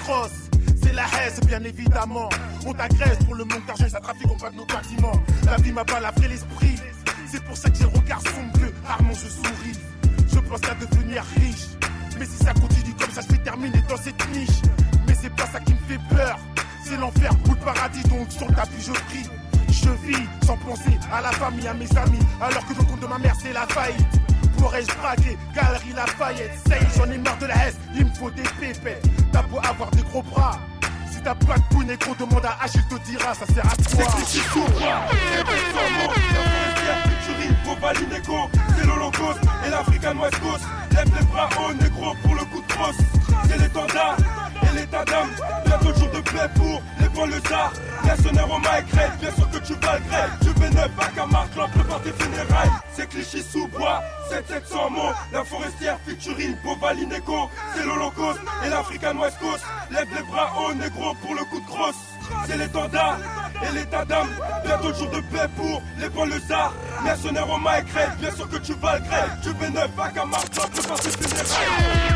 atroce. C'est la haine, bien évidemment. On t'agresse pour le manque d'argent et ça trafique, on braque nos bâtiments. La vie m'a balafré l'esprit. C'est pour ça que j'ai le regard sombre que rarement je souris. Je pense à devenir riche. Mais si ça continue comme ça, je vais terminer dans cette niche. Mais c'est pas ça qui me fait peur. C'est l'enfer ou le paradis, donc sur le tapis je prie. Je vis sans penser à la famille, à mes amis. Alors que le compte de ma mère c'est la faillite. Pourrais-je braquer Galerie Lafayette? Ça y est, j'en ai marre de la haine, il me faut des pépettes. T'as beau avoir des gros bras, si t'as pas de pouille, négro, demande à H, il te dira, ça sert à toi. C'est cliché sous moi, c'est bête sans mots. La forestière, Futurie, Bobali, Négo, c'est l'Holocauste et l'African West Coast. Lève les bras haut, négro, pour le coup de crosse. C'est l'étendard et l'état d'âme. Bientôt le jour de paix pour les banlieusards. Mercenaires au Maïkrel, bien sûr que tu vas le grève. Je vais neuf à Camargue, l'en prépare tes funérailles. C'est cliché sous bois, sept sept cents mots. La forestière, Futurine, Bobali, Négo, c'est l'Holocauste et l'African West Coast. Lève les bras haut, négro, pour le coup de crosse. C'est l'étendard et l'état d'âme. Bientôt le jour de paix pour les banlieusards. Mercenaires au Maïkrel, bien sûr que tu vas le grève. Je vais neuf à Camargue, l'en prépare tes funérailles.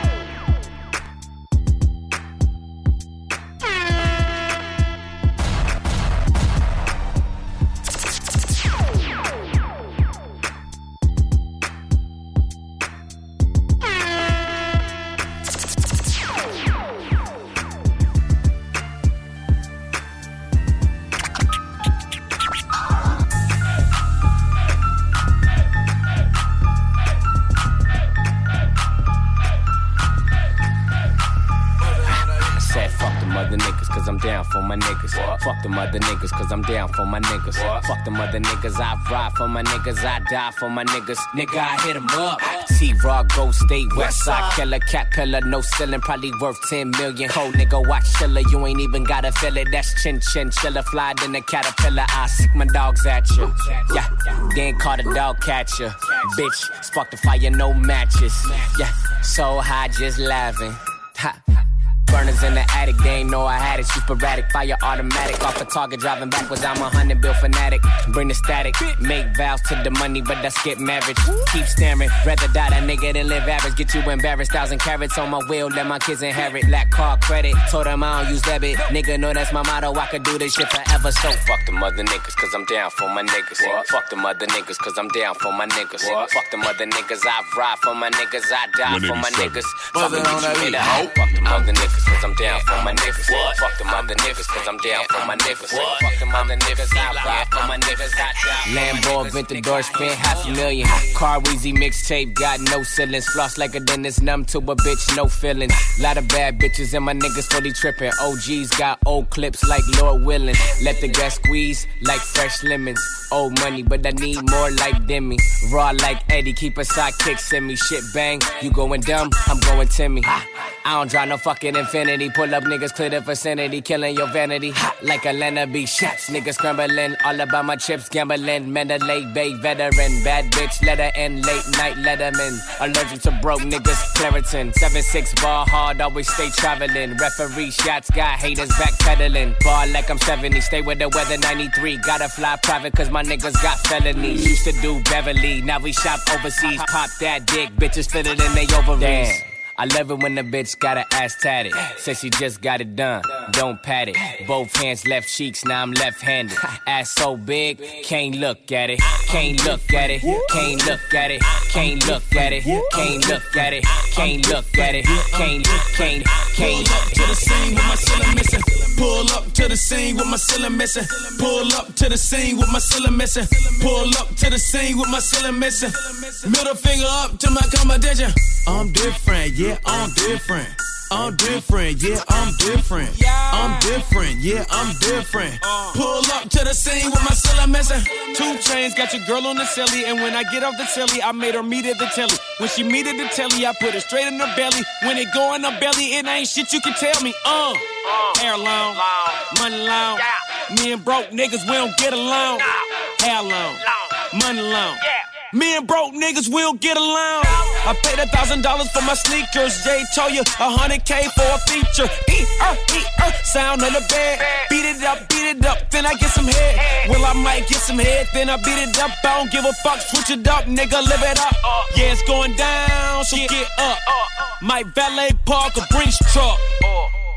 For my niggas, what? Fuck them other niggas, cause I'm down for my niggas. What? Fuck them other niggas, I ride for my niggas, I die for my niggas. Nigga, I hit them up. T-Raw, Go State, Westside Killer, Cat Pillar, no ceiling, probably worth ten million. Cold nigga, watch chiller, you ain't even gotta feel it. That's chin chin chiller, fly than a caterpillar. I sick my dogs at you. Yeah, game caught a dog catcher. Bitch, spark the fire, no matches. Yeah, so high, just laughing. Ha. Burners in the attic, they ain't know I had it. Shoot sporadic, fire automatic. Off a target, driving backwards, I'm a hundred bill fanatic. Bring the static, make vows to the money, but that's get marriage. Keep staring, rather die that nigga than live average. Get you embarrassed, thousand carats on my wheel, let my kids inherit. Lack car credit, told them I don't use debit. Nigga know that's my motto, I could do this shit forever. So fuck them other niggas, cause I'm down for my niggas. What? Fuck them other niggas, cause I'm down for my niggas. What? Fuck them other niggas, I ride for my niggas, I die for my niggas. Fuck them other niggas. Cause I'm down for my niggas. What? Fuck them other niggas, cause I'm down for my niggas. What? Fuck them other niggas, I ride for my niggas. Lambo, Aventador, spent half a million. Car Weezy mixtape, got no ceilings. Floss like a dentist, numb to a bitch, no feelings. Lot of bad bitches and my niggas fully tripping. O Gs got old clips like Lord Willin'. Let the gas squeeze like fresh lemons. Old money, but I need more like Demi. Raw like Eddie, keep a sidekick, send me shit bang. You going dumb, I'm going Timmy. I don't drive no fucking Infinity. Pull up niggas, clear the vicinity. Killing your vanity. Like Atlanta B shots. Niggas scrambling. All about my chips, gambling. Mandalay Bay veteran. Bad bitch, let her in. Late night, letterman. Allergic to broke niggas, Claritin. seven six ball hard, always stay traveling. Referee shots, got haters backpedaling. Ball like I'm seventy. Stay with the weather ninety-three. Gotta fly private cause my niggas got felonies. Used to do Beverly. Now we shop overseas. Pop that dick. Bitches fit it in they ovaries. Damn. I love it when the bitch got her ass tatted. Said she just got it done, don't pat it. Both hands left cheeks, now I'm left-handed. Ass so big, can't look at it. Can't look at it, can't look at it. Can't look at it, can't look at it. Can't look at it, can't, can't, can't. To the scene with my ceiling missing. Pull up to the scene with my ceiling missing. Pull up to the scene with my ceiling missing. Pull up to the scene with my ceiling missing. Middle finger up to my competition. I'm different, yeah, I'm different. I'm different, yeah, I'm different. I'm different, yeah, I'm different. Pull up to the scene with my ceiling missing. Two chains, got your girl on the celly. And when I get off the telly, I made her meet at the telly. When she meet at the telly, I put it straight in her belly. When it go in her belly, it ain't shit you can tell me. Uh, hair long, money long. Me and broke niggas, we don't get along. Hair long, money long. Me and broke niggas will get along. I paid a thousand dollars for my sneakers. Jay told you a hundred K for a feature. E-er, E-er, sound of the bed. Beat it up, beat it up, then I get some head. Well, I might get some head, then I beat it up. I don't give a fuck, switch it up, nigga, live it up. Yeah, it's going down, so get up. Might valet park a Brinks truck.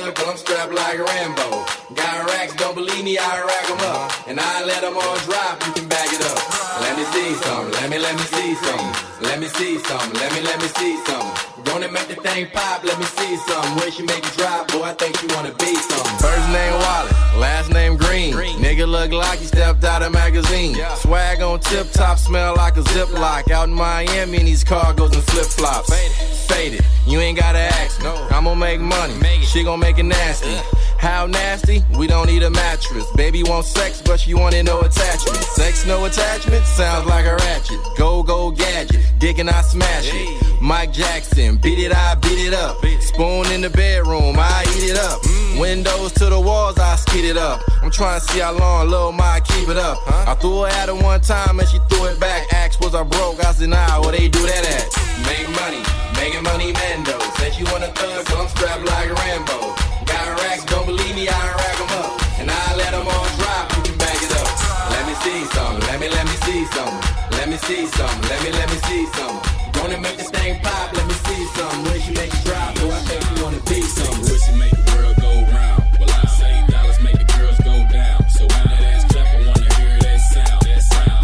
thug, but I'm strapped like Rambo. Got racks, don't believe me, I rack them up. And I let them all drop, you can back it up. Let me see some, let me, let me see some. Let me see some, let me, let me see some. Gonna make the thing pop, let me see some. Where she make it drop, boy, I think you wanna be some. First name Wallet, last name Green. Green. Nigga look like he stepped out of magazine. Yeah. Swag on tip top, smell like a Ziploc. Out in Miami in these cargos and flip flops. Faded. Faded, you ain't gotta ask me. No. I'm gonna make money, make it. She gon' make it nasty. Yeah. How nasty? We don't need a mattress. Baby wants sex, but she wanted no attachment. Sex, no attachment? Sounds like a ratchet. Go, go, gadget. Dick and I smash it. Mike Jackson, beat it, I beat it up. Spoon in the bedroom, I eat it up. Mm. Windows to the walls, I skid it up. I'm trying to see how long Lil' Mike keep it up. Huh? I threw her at her one time and she threw it back. Asked was I broke, I said nah, where they do that at? Make money, making money Mando. Said she want a thug, so I'm strapped like Rambo. Got racks, don't believe me, I rack them up. And I let them all drop, you can back it up. Let me see some, let me, let me see some. Let me see some, let me, let me see some. Gonna make this thing pop, let me see some. When she make it drop, boy, I think you wanna be some. When she make the world go round, well I say dollars make the girls go down. So when that ass clap, I wanna hear that sound. That sound,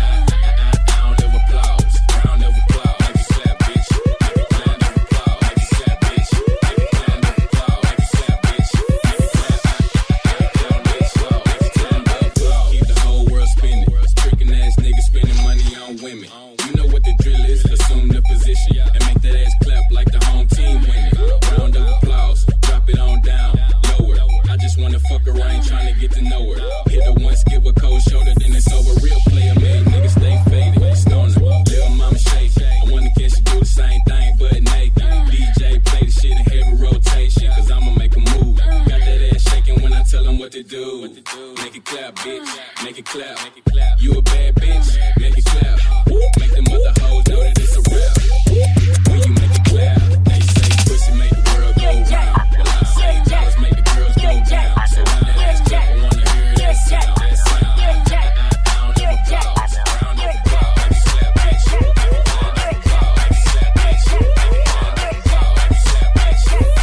round of applause, round of applause. Like you slap, bitch, like you clap of applause. Like you slap, bitch, like you clap of applause. Like you slap, bitch, like you clap, like you clap, bitch, like you clap of applause. Keep the whole world spinning, tricking ass niggas spending money on women. You know what the drill is, assume the position and make that ass clap like the home team winning. Round of applause, drop it on down, lower. I just wanna fuck her, I ain't trying to get to know her. Hit her once, give a cold shoulder, then it's over. Real player made niggas stay faded, stoner, little mama shake. I wanna catch you do the same thing but naked. D J play the shit in heavy rotation, cause I'ma make a move. Got that ass shaking when I tell them what to do. Make it clap, bitch, make it clap. You a bad bitch, make it clap. Make them other hoes know that it's a rap. When you make it clap, they say pussy make the world go round. Well I say dollars make the girls go down. So when that ass clap, I wanna hear that sound. That sound, round of applause, round of applause. Like you slap, bitch, like you clap of applause. Like you slap, bitch, like you clap of applause. Like you slap, bitch, like you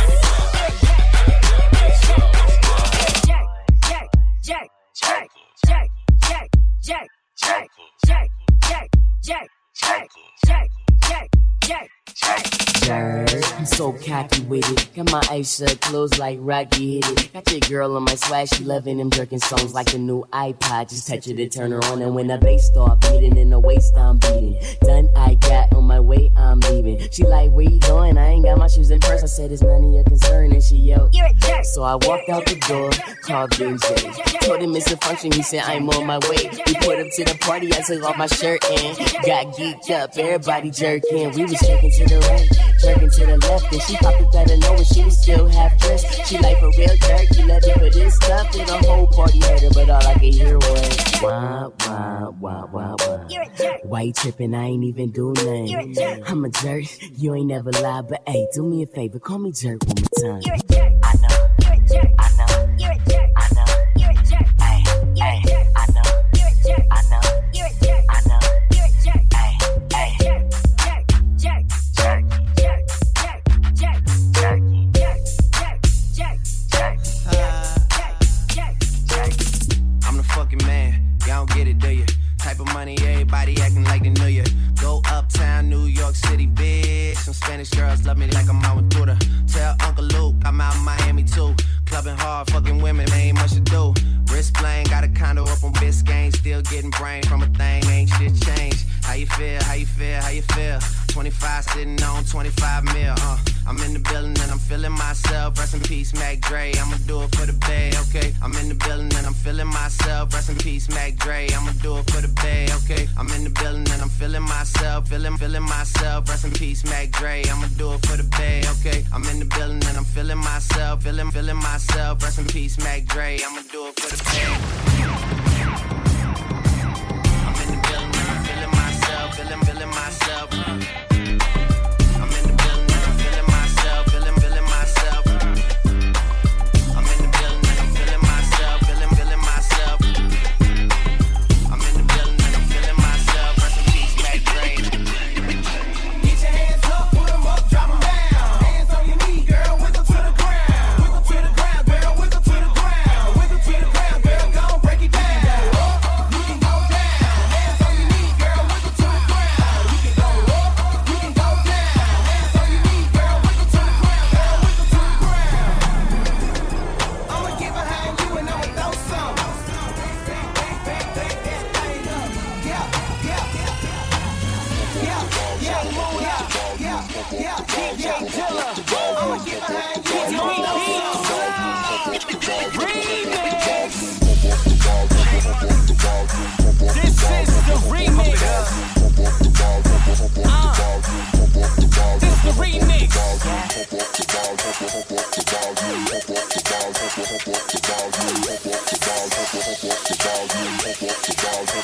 I'm so cocky with it. Got my eyes shut, closed like Rocky hit it. Got your girl on my swag, she loving them jerking songs like the new iPod. Just touch it to turn her on, and when the bass start beating in the waist, I'm beating. Done, I got on my way, I'm leaving. She like, where you going? I ain't got my shoes in purse. I said, it's none of your concern, and she yelled, you're a jerk. So I walked out the door, called Ben J. Told him it's a function, he said, I'm on my way. We put up to the party, I took off my shirt and got geeked up. Everybody jerking, we was jerking to the right, jerking to the left, and she popped it out of nowhere. She was still half dressed. She like, for real jerk, you love it for this stuff. And the whole party had her, but all I could hear was wah, wah, wah, wah, wah. You're a jerk. Why you tripping? I ain't even do nothing. You're a jerk. I'm a jerk. You ain't never lied, but hey, do me a favor, call me jerk one more time. You're a jerk. I know. You're a jerk. I know. You're a jerk. I know. You're a jerk. Hey, hey, I know. You're a jerk. I know. You're a jerk. I know. You're a jerk. Hey, hey, jerk, jerk, jerk, jerk, jerk, jerk, jerk, jerk, jerk, jerk, jerk, jerk. I'm the fucking man, y'all don't get it, do you? Type of money, everybody acting like they knew you. Go uptown, New York City, bitch. Some Spanish girls love me like I'm out with Buddha. Tell Uncle Luke I'm out in Miami too. Clubbing hard, fucking women, ain't much to do. Wrist playing, got a condo up on Biscayne. Still getting brain from a thing, ain't shit changed. How you feel, how you feel, how you feel? twenty-five sitting on twenty-five mil, uh. I'm in the building and I'm feeling myself. Rest in peace, Mac Dre. I'ma do it for the bay, okay? I'm in the building and I'm feeling myself. Rest in peace, Mac Dre. I'ma do it for the bay, okay? I'm in the building and I'm feeling myself. Feeling, feeling myself. Rest in peace, Mac Dre. I'ma do it for the bay, okay? I'm in the building and I'm feeling myself. Feeling, feeling myself. Rest in peace, Mac Dre. I'ma do it for the bay. I'm in the building and I'm feeling myself. Feeling, feeling myself. Hands on your knee, girl, wiggle to the ground. Wiggle to the ground, girl.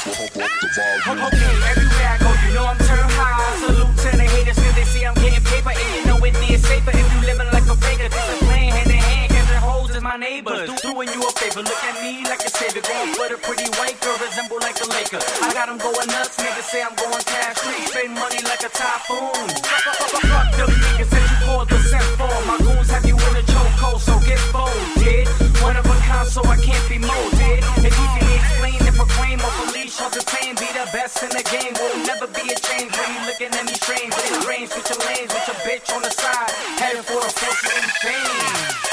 Okay, everywhere I go, you know I'm turned high. Salute to the haters, cause they see I'm getting paper. And you know it is safer if you living like a faker. This is playing hand in hand, catching hoes is my neighbors. Do, doing you a favor, look at me like a savior. Going for the pretty white girl, resemble like a Laker. I got them going nuts, niggas say I'm going cash free. Straight money like a typhoon. Fuck the niggas that you called the sent for. My goons have you in a chokehold, so get folded. One of a kind, so I can't be molded. If you can explain and proclaim or police or detain, be the best in the game. Will never be a change when you looking at me strange. In the range, with your lanes, with your bitch on the side, heading for a fortune and fame.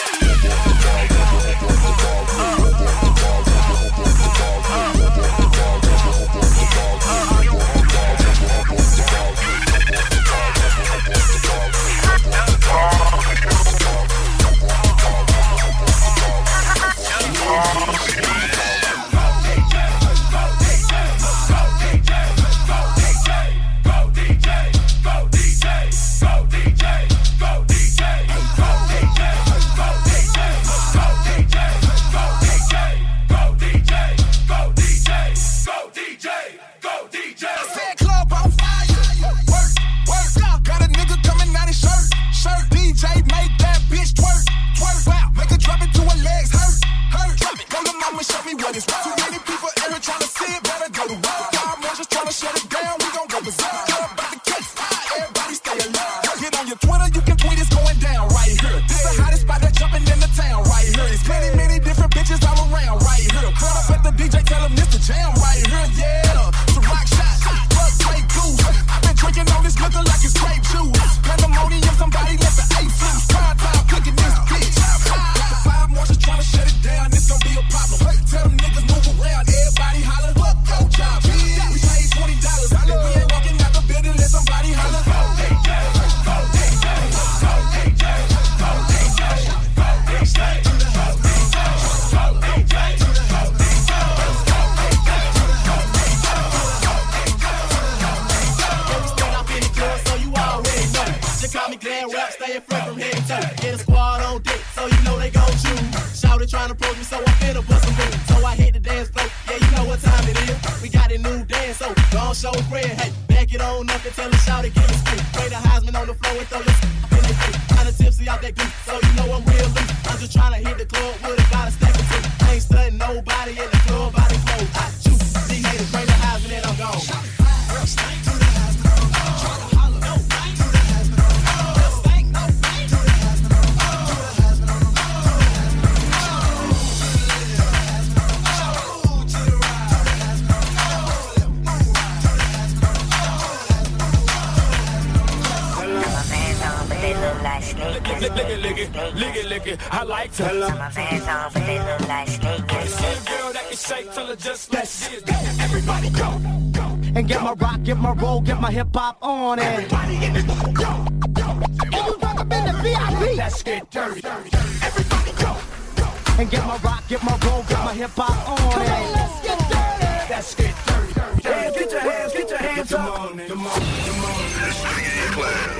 Get my hip hop on it. Everybody in the go, go. And you rock up in the V I P. Let's get dirty. Everybody go, go. And get my rock, get my roll, get my hip hop on Come it. On, let's get dirty. Let's get dirty. dirty, dirty. Hands, get your hands, get your hands up. Come on, come on, come on. This nigga in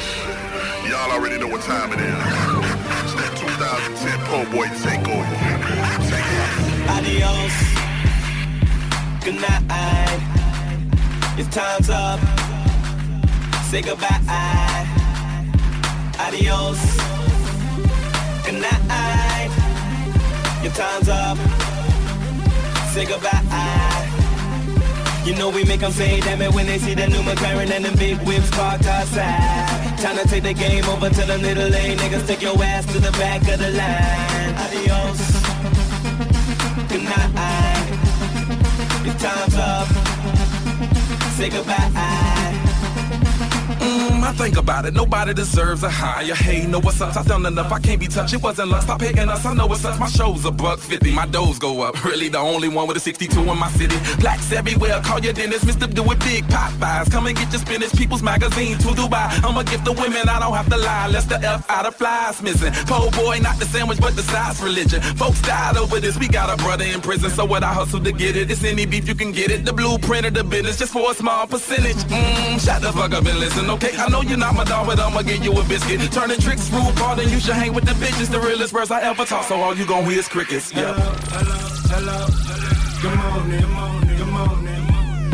class. Y'all already know what time it is. It's that two thousand ten Po Boy takeover. Take it. Adios. Good night. It's time's up. Say goodbye. Adios. Good night. Your time's up. Say goodbye. You know we make them say damn it when they see the new McLaren and them big whips parked outside. Time to take the game over to the middle lane. Niggas take your ass to the back of the line. Adios. Good night. Your time's up. Say goodbye. Mm, I think about it, nobody deserves a higher. Hey, know what's up? I done enough, I can't be touched. It wasn't love, stop hating us. I know what's up. My show's a buck fifty, my doors go up. Really the only one with a sixty-two in my city. Blacks everywhere, call your dentist, Mister Do It Big Popeyes. Come and get your spinach, People's Magazine to Dubai. I'ma give the women, I don't have to lie. Less the F out of flies missing. Po boy, not the sandwich, but the size religion. Folks died over this, we got a brother in prison. So what I hustle to get it, it's any beef you can get it. The blueprint of the business, just for a small percentage. Mmm, shut the fuck up and listen, okay? I know you're not my dog, but I'ma give you a biscuit. Turning tricks, rude ball, then you should hang with the bitches. The realest words I ever talk, so all you gon' hear is crickets. Yeah. Hello, hello, hello. Good morning, good morning, good morning.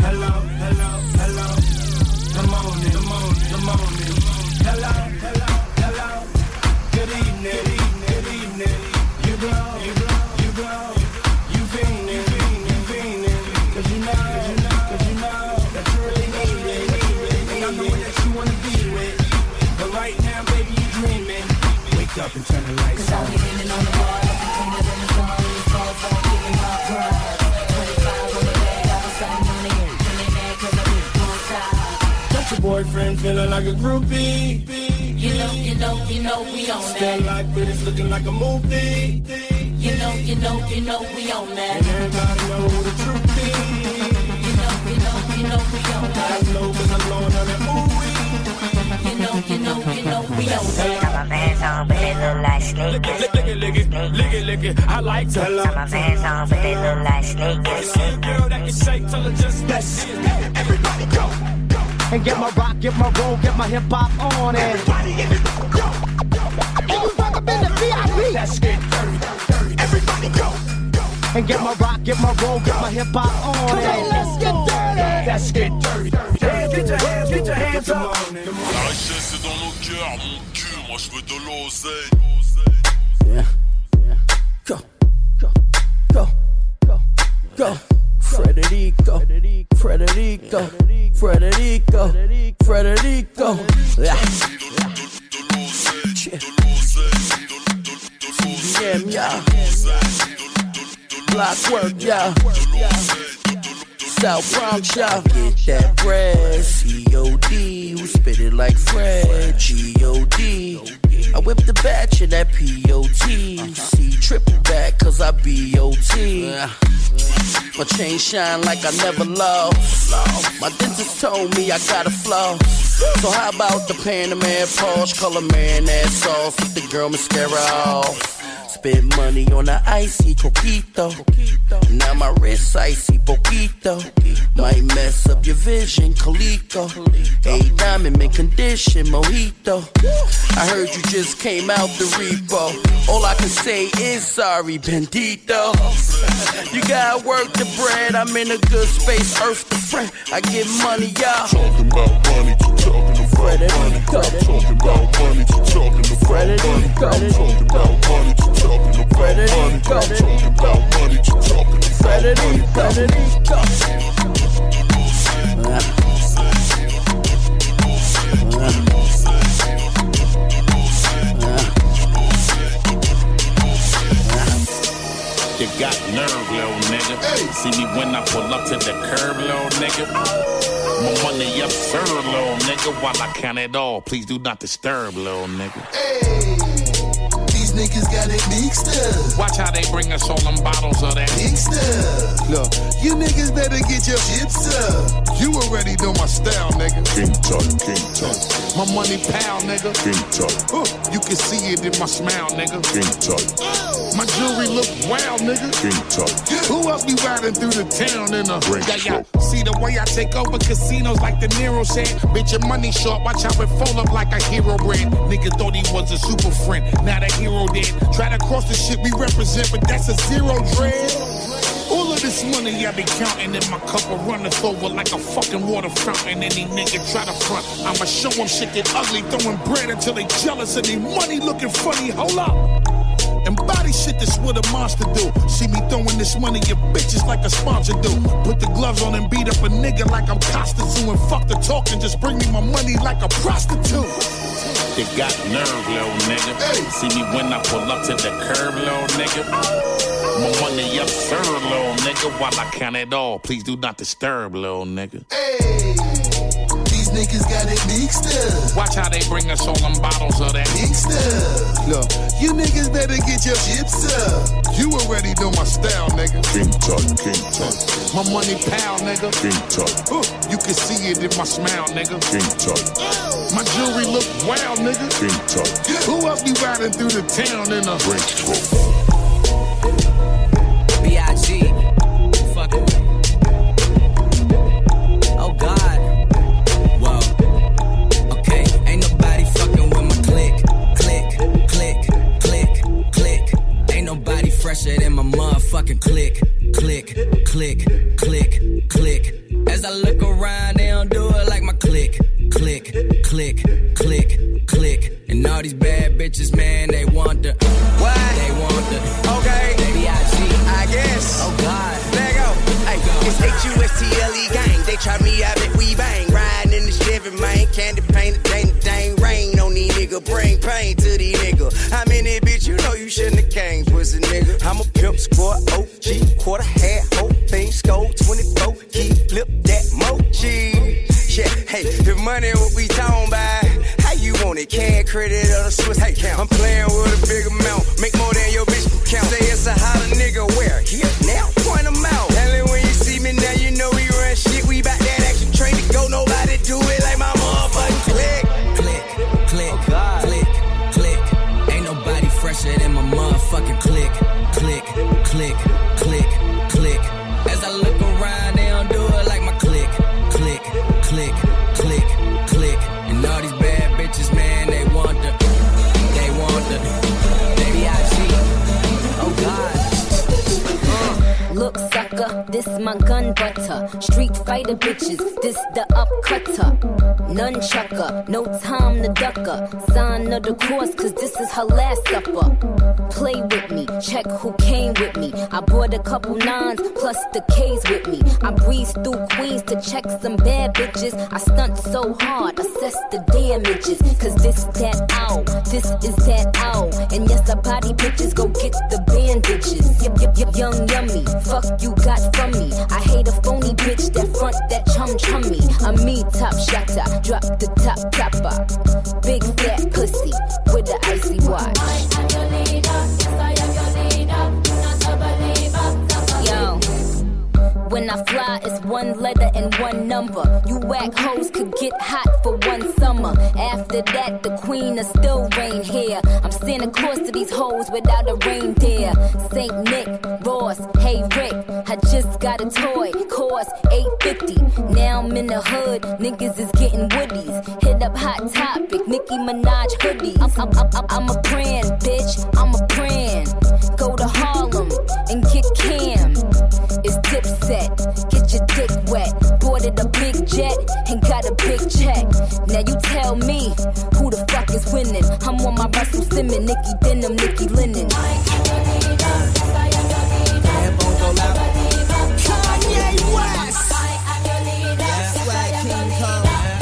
I know that you wanna be with. But right now, baby, you dreaming. Wake up and turn the lights on. Cause I'll be leaning on the bar, looking cleaner than the sun. These calls all giving my pride. twenty-five on the bag, I was sitting on it. Feeling mad cause I did one side. Got your boyfriend feeling like a groupie. You know, you know, you know we on that. Stand like this, looking like a movie. You know, you know, you know we on that. And everybody know who the truth is. You know, you know, you know we on that. I know cause I'm blowing on that movie. You know, you know, you know we on that. Got my Vans on, but they look like sneakers. Lick it, lick it, lick it, lick it. I like to. Got my Vans on, but they look like sneakers. Girl that can shake till it just that's it. Everybody go. And get my rock, get my roll, get my hip hop on it. Everybody, everybody go. And you rock up in the V I P. Let's get dirty, dirty. Everybody go. And get my rock, get my roll, get my hip hop on it. Let's get dirty. Let's get dirty, dirty. Get your hands, get your hands up. La richesse est dans nos cœurs, mon cul, moi je veux de l'oseille. Yeah, yeah. Go, go, go, go, go. Frederico, Frederico, Frederico, Frederico. Yeah. Yeah, yeah. Block work, yeah. South Bronx, y'all. Get that bread, C O D. We spit it like Fred, G O D. I whip the batch of that P O T. C triple back, cause I B O T. My chain shine like I never lost. My dentist told me I got a flaw. So how about the Panamera Porsche, color man ass sauce with the girl mascara off. Spend money on the icy coquito. Now my wrist icy poquito. Might mess up your vision, Calico. A diamond mint condition, mojito. I heard you just came out the repo. All I can say is sorry, bendito. You gotta work the bread. I'm in a good space, earth the friend. I get money, y'all. Talking about money, talking about money. Talking about money, talking about money. Talking about money, talking about money. Talking about money, talking about money. You got nerve, little nigga. Hey. See me when I pull up to the curb, little nigga. My money absurd, little nigga. While I count it all, please do not disturb, little nigga. Hey. Niggas got it mixed up. Watch how they bring us all them bottles of that mixed up. Look, you niggas better get your chips up. You already know my style, nigga. King Tut, King Tut. My money pal, nigga. King Tut. Uh, you can see it in my smile, nigga. King Tut. My jewelry look wild, nigga. King Tut. Who else be riding through the town in a Ring yeah, yeah. See the way I take over casinos like De Niro said. Bitch, your money short. Watch how it fold up like a hero brand. Nigga thought he was a super friend. Now the hero dead. Try to cross the shit we represent, but that's a zero dread. All of this money I be counting in my cup will run us over like a fucking water fountain. Any nigga try to front, I'ma show them shit get ugly, throwing bread until they jealous and they money looking funny. Hold up. And body shit, that's what a monster do. See me throwing this money at bitches like a sponsor do. Put the gloves on and beat up a nigga like I'm Costa Zoo. And fuck the talk and just bring me my money like a prostitute. You got nerve, little nigga. Hey. See me when I pull up to the curb, little nigga. My money absurd, little nigga. While I count it all, please do not disturb, little nigga. Hey. These niggas got it mixed up. Watch how they bring us all them bottles of that mixed up. Look, you niggas better get your chips up. You already know my style, nigga. King Tut, King Tut. My money pal, nigga. King Tut. Uh, you can see it in my smile, nigga. King Tut. My jewelry look wild, nigga. King Tut. Who else be riding through the town in a Ring Tut? B I G Fuck it. Oh God. Whoa. Okay, ain't nobody fucking with my click, click, click, click, click. Ain't nobody fresher than my motherfucking click, click, click, click, click. As I look around, they don't do it like my click, click, click, click, click. And all these bad bitches, man, they want the Why? They want the Okay. B I G I guess. Oh God. Let go. Hey, it's H U S T L E gang. They try me out and we bang. Riding in the Chevy living, man. Candy painted, dang, dang, rain on these nigga. Bring pain to these nigga. How many bitch you know you shouldn't have came, pussy nigga? I'm a pimp, squad, O G, quarter hat, whole thing, score, twenty-four, key, flip that mochi. Yeah, hey, if money what we talking about, how you want it? Can credit or the Swiss? Hey, I'm playing with a big amount, make more than your bitch can count. Say it's a hotter nigga, where? Here, now, point them out. And when you see me now, you know we run shit. We bout that action train to go, nobody do it like my motherfucking click. Click, click, oh click, click. Ain't nobody fresher than my motherfucking click, click, click, click, click. As I look around, they don't do it like my click, click, click, click, click. And all these bad bitches, man, they want the, they want the, they B I G. Oh God. Uh, look, sucker, this my gun butter. Street fighter bitches, this the upcutter. Nunchucker, no time to ducker. Sign of the cross, cause this is her last supper. Play with me, check who came with me. I brought a couple nines, plus the K's with me. I breeze through Queens to check some bad bitches. I stunt so hard, assess the damages. Cause this that ow, this is that ow. And yes, the body bitches go get the bandages. Yep, yep, yep, young yummy, fuck you got from me. I hate a phony bitch that front that chum chummy. I'm me top shotter, drop the top topper. Big fat pussy with the icy watch. I am your leader, yes I am your leader. Not a believer. Yo, when I fly, it's one letter and one number. You whack hoes could get hot for one summer. After that, the queen will still reign here. I'm Santa Claus to these hoes without a reindeer. Saint Nick, Ross, hey Rick, I just got a toy, cost eight fifty. Now I'm in the hood, niggas is getting woodies. Hit up Hot Topic, Nicki Minaj hoodies. I'm, I'm, I'm, I'm a brand, bitch, I'm a brand. Go to Harlem and get Cam. It's Dipset, get your dick wet. Boarded a big jet and got a big check. Now you tell me who the fuck is winning. I'm on my Russell Simmons, Nicki Denim, Nicki Linen. Kanye West. That's right, King Kong.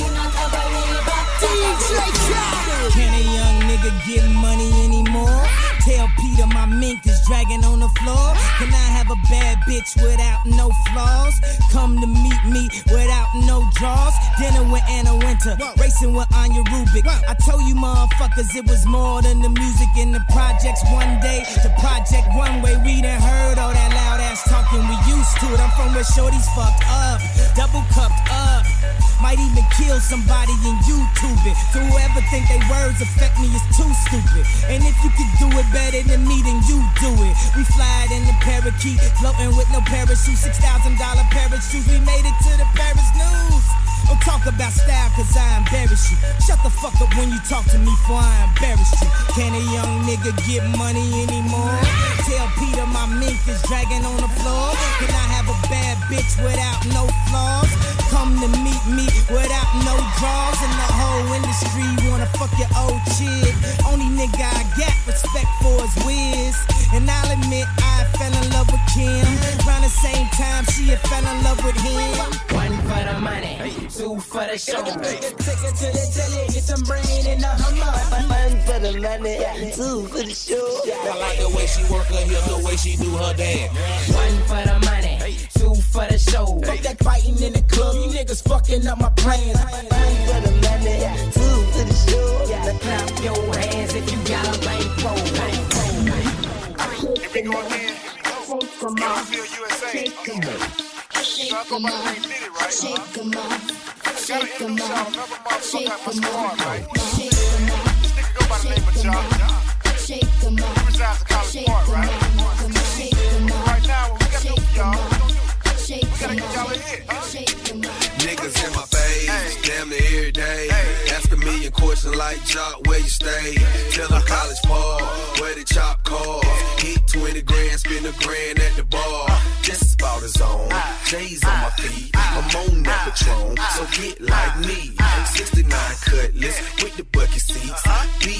D J Khaled. Can a young nigga get money anymore? Tell Peter my mink is dragging on the floor. Can I have a bad bitch without no flaws? Come to meet me without no draws. Dinner with Anna Winter, racing with Anya Rubik. I told you motherfuckers it was more than the music in the projects. One day, the project one way. We done heard all that loud ass talking. We used to it. I'm from where shorties fucked up, double cupped up. Might even kill somebody in YouTube it. So whoever think they words affect me is too stupid. And if you could do it better than me, then you do it. We fly in the parakeet, floating with no parachute. Six thousand dollar parachutes. We made it to the Paris news. Don't talk about style cause I embarrass you. Shut the fuck up when you talk to me for I embarrass you. Can a young nigga get money anymore? Tell Peter my mink is dragging on the floor. Can I have a bad bitch without no flaws? Come to meet me without no draws. And the whole industry wanna fuck your old chick. Only nigga I got respect for is Wiz. And I'll admit I fell in love with Kim. Around the same time she had fell in love with him. One for the money, two for the show. Take it to the telly, get some brain in the Hummer. One for the money, two for the show. I like the way she work her hip, the way she do her dance. One for the money, two for the show. Fuck that fighting in the club, you niggas fucking up my plans. One for the money, two for the show. Now clap your hands if you got a bankroll. Here we go again. Gainesville, U S A. Shake them up, shake them up, shake them up, shake them up, right? Shake them up, this nigga go by the name of John. Shake them up, he resides in College Park, right? Shake them up, right now, what we got to do for y'all, what we gonna do? We gotta get y'all a hit, huh? Niggas in my face, hey. Damn near every day. Hey. Ask a million questions like Jock, where you stay? Tell them College Park, where the chop cars. Hit twenty grand, spend a grand at the bar. Just about his own. J's on my feet, I'm on that Patron, so get like me. sixty-nine Cutlass with the bucket seats. Beat in my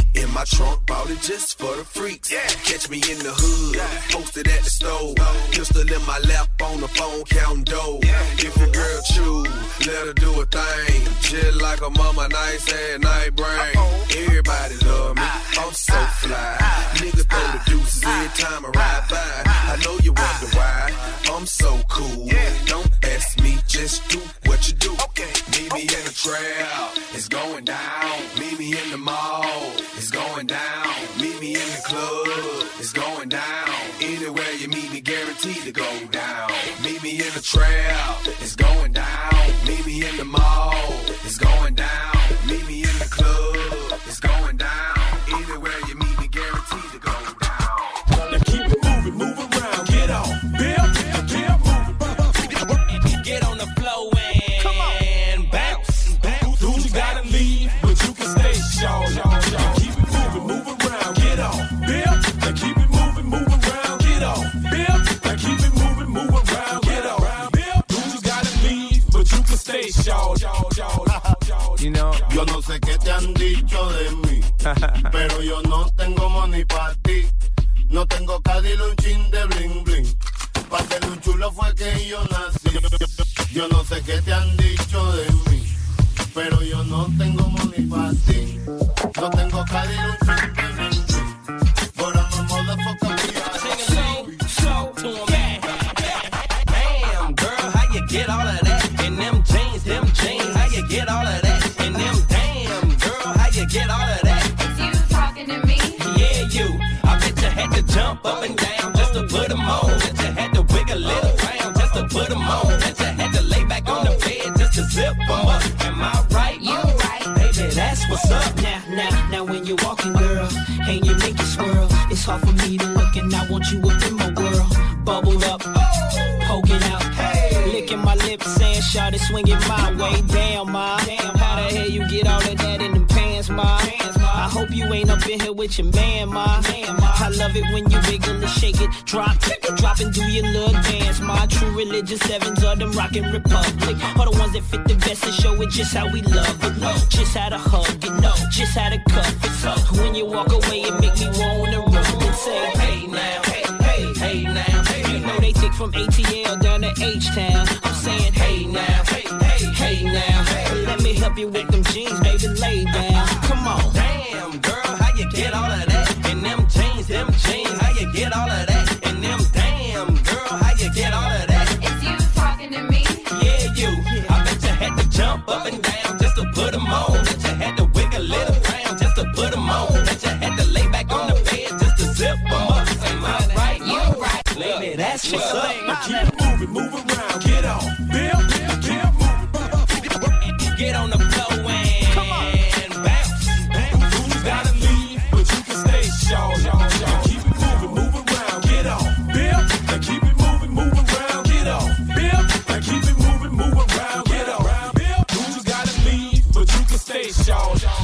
my trunk, bought it just for the freaks. Yeah. Catch me in the hood, yeah. Posted at the stove. Pistol in my lap on the phone, counting dough. Yeah. If your girl choose, let her do a thing. Just like a mama, nice ass night brain. Uh-oh. Everybody love me, I'm so fly. Nigga throw the deuces every time I ride by. I know you wonder why, I'm so cool. Don't ask me, just do what you do. Okay. Meet me in the trap, it's going down. Meet me in the mall, it's going down. Meet me in the club, it's going down. Anywhere you meet me, guaranteed to go down. Meet me in the trap, it's going down. Meet me in the mall, it's going down. Meet me in the club, it's going down. Anywhere you meet me, guaranteed to go down. Now keep it moving, move around, get on, Bill, get moving, get on the floor and bounce. Dude, you gotta leave, but you can stay, y'all, y'all, y'all. Keep it moving, move around, get on, Bill. Now keep it moving, move around, get on, Bill. Now keep it moving, move around, get on, Bill. Dude, you gotta leave, but you can stay, y'all, y'all, y'all, y'all. You know, yo no sé qué te han dicho de mí, pero yo no tengo money pa' ti. No tengo cadil, un chin de bling bling. Pa' ser un chulo fue que yo nací. Yo no sé qué te han dicho de mí, pero yo no tengo money pa' ti. No tengo cadil, un chin de bling bling. But I'm a motherfucker. Damn, girl, how you get all of that? In them jeans, them jeans, how you get all of that? In them damn, girl, how you get all of that? It's you talking to me? Yeah, you. I bet you had to jump up and down just to put them on. Bet you had to wiggle it around just to put them on. Bet you had to lay back on the bed just to zip them up. Am I right? You right. Baby, that's what's up. Now, now, now when you're walking, girl, and you make it swirl, it's hard for me to look and I want you up in my world. Bubbled up, poking out, hey. Licking my lips, saying, shawty, swing it my way. Damn, ma, damn, how the hell you get all of that in them pants, ma? I hope you ain't up in here with your man, ma. I love it when you wiggle and shake it, drop, drop and do your little dance, ma. True religious sevens or them rockin' republic, are the ones that fit the best and show it just how we love it. Just how to hug it, no, just how to cuff it. So when you walk away, it make me wanna run and say, hey now, hey, hey, hey now. You know they take from A T L down to H-Town. I'm saying, hey now, hey, hey, hey now. Let me help you with them jeans, baby, lay down. Come on. Damn, girl, how you get all of that? In them jeans, them jeans, how you get all of that? In them damn, girl, how you get all of that? It's you talking to me? Yeah, you. I bet you had to jump up and down just to put them on. Bet you had to wiggle it around just to put them on. Bet you had to lay back on the bed just to zip them up. Am I right? You right. Lady, that's what's up. Keep it moving, move around, get on. Bill, Bill, get moving. Get on the floor and bounce. Who's gotta leave, but you can stay, y'all, y'all, y'all. Keep it moving, move around, get on. Bill, now keep it moving, move around, get on. Bill, now keep it moving, move around, get on. Bill, who's gotta leave, but you can stay, y'all, y'all.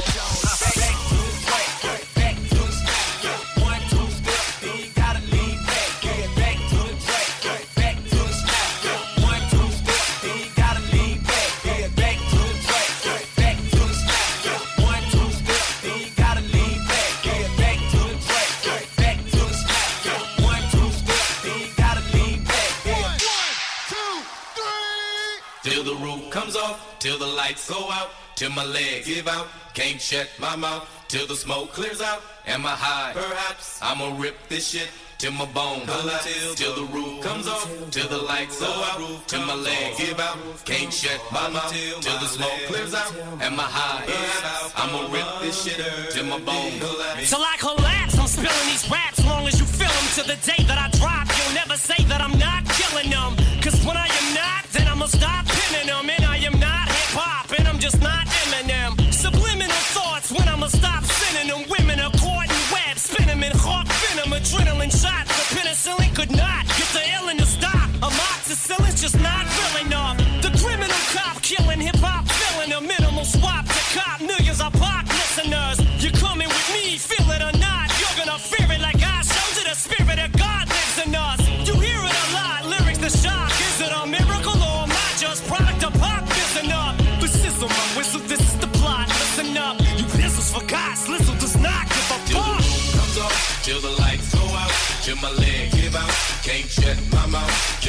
Till the lights go out, till my legs give out, can't shut my mouth, till the smoke clears out. Am I high? Perhaps I'ma rip this shit till my bone collapse, till, till the roof comes off, till the lights go out, till my legs give out, can't shut my mouth, till the smoke clears out. Am I high? Perhaps I'ma rip this shit till my bone collapse. Till I collapse, I'm spilling these raps, long as you feel them. To the day that I drop, you'll never say that I'm not killing them. Cause when I am not, then I'ma stop pinning them. And I am not hip-hop, and I'm just not Eminem. Subliminal thoughts when I'ma stop sending them. Women are caught in webs, spin them in hawk venom. Adrenaline shots, the penicillin could not get the illin to stop. Amoxicillin's just not real enough. The criminal cop killing hip-hop, filling a minimal swap to cop. Millions of pop listeners, you're coming with me, feel it or not. You're gonna fear it like I showed you. The spirit of God lives in us. You hear it a lot, lyrics the shock. Is it a miracle or am I just product of pop? Listen up, the sizzle, my whistle, this is the plot. Listen up, you pistols for God, Slizzle does not give a fuck. to my leg. Give out, can't shut my mouth.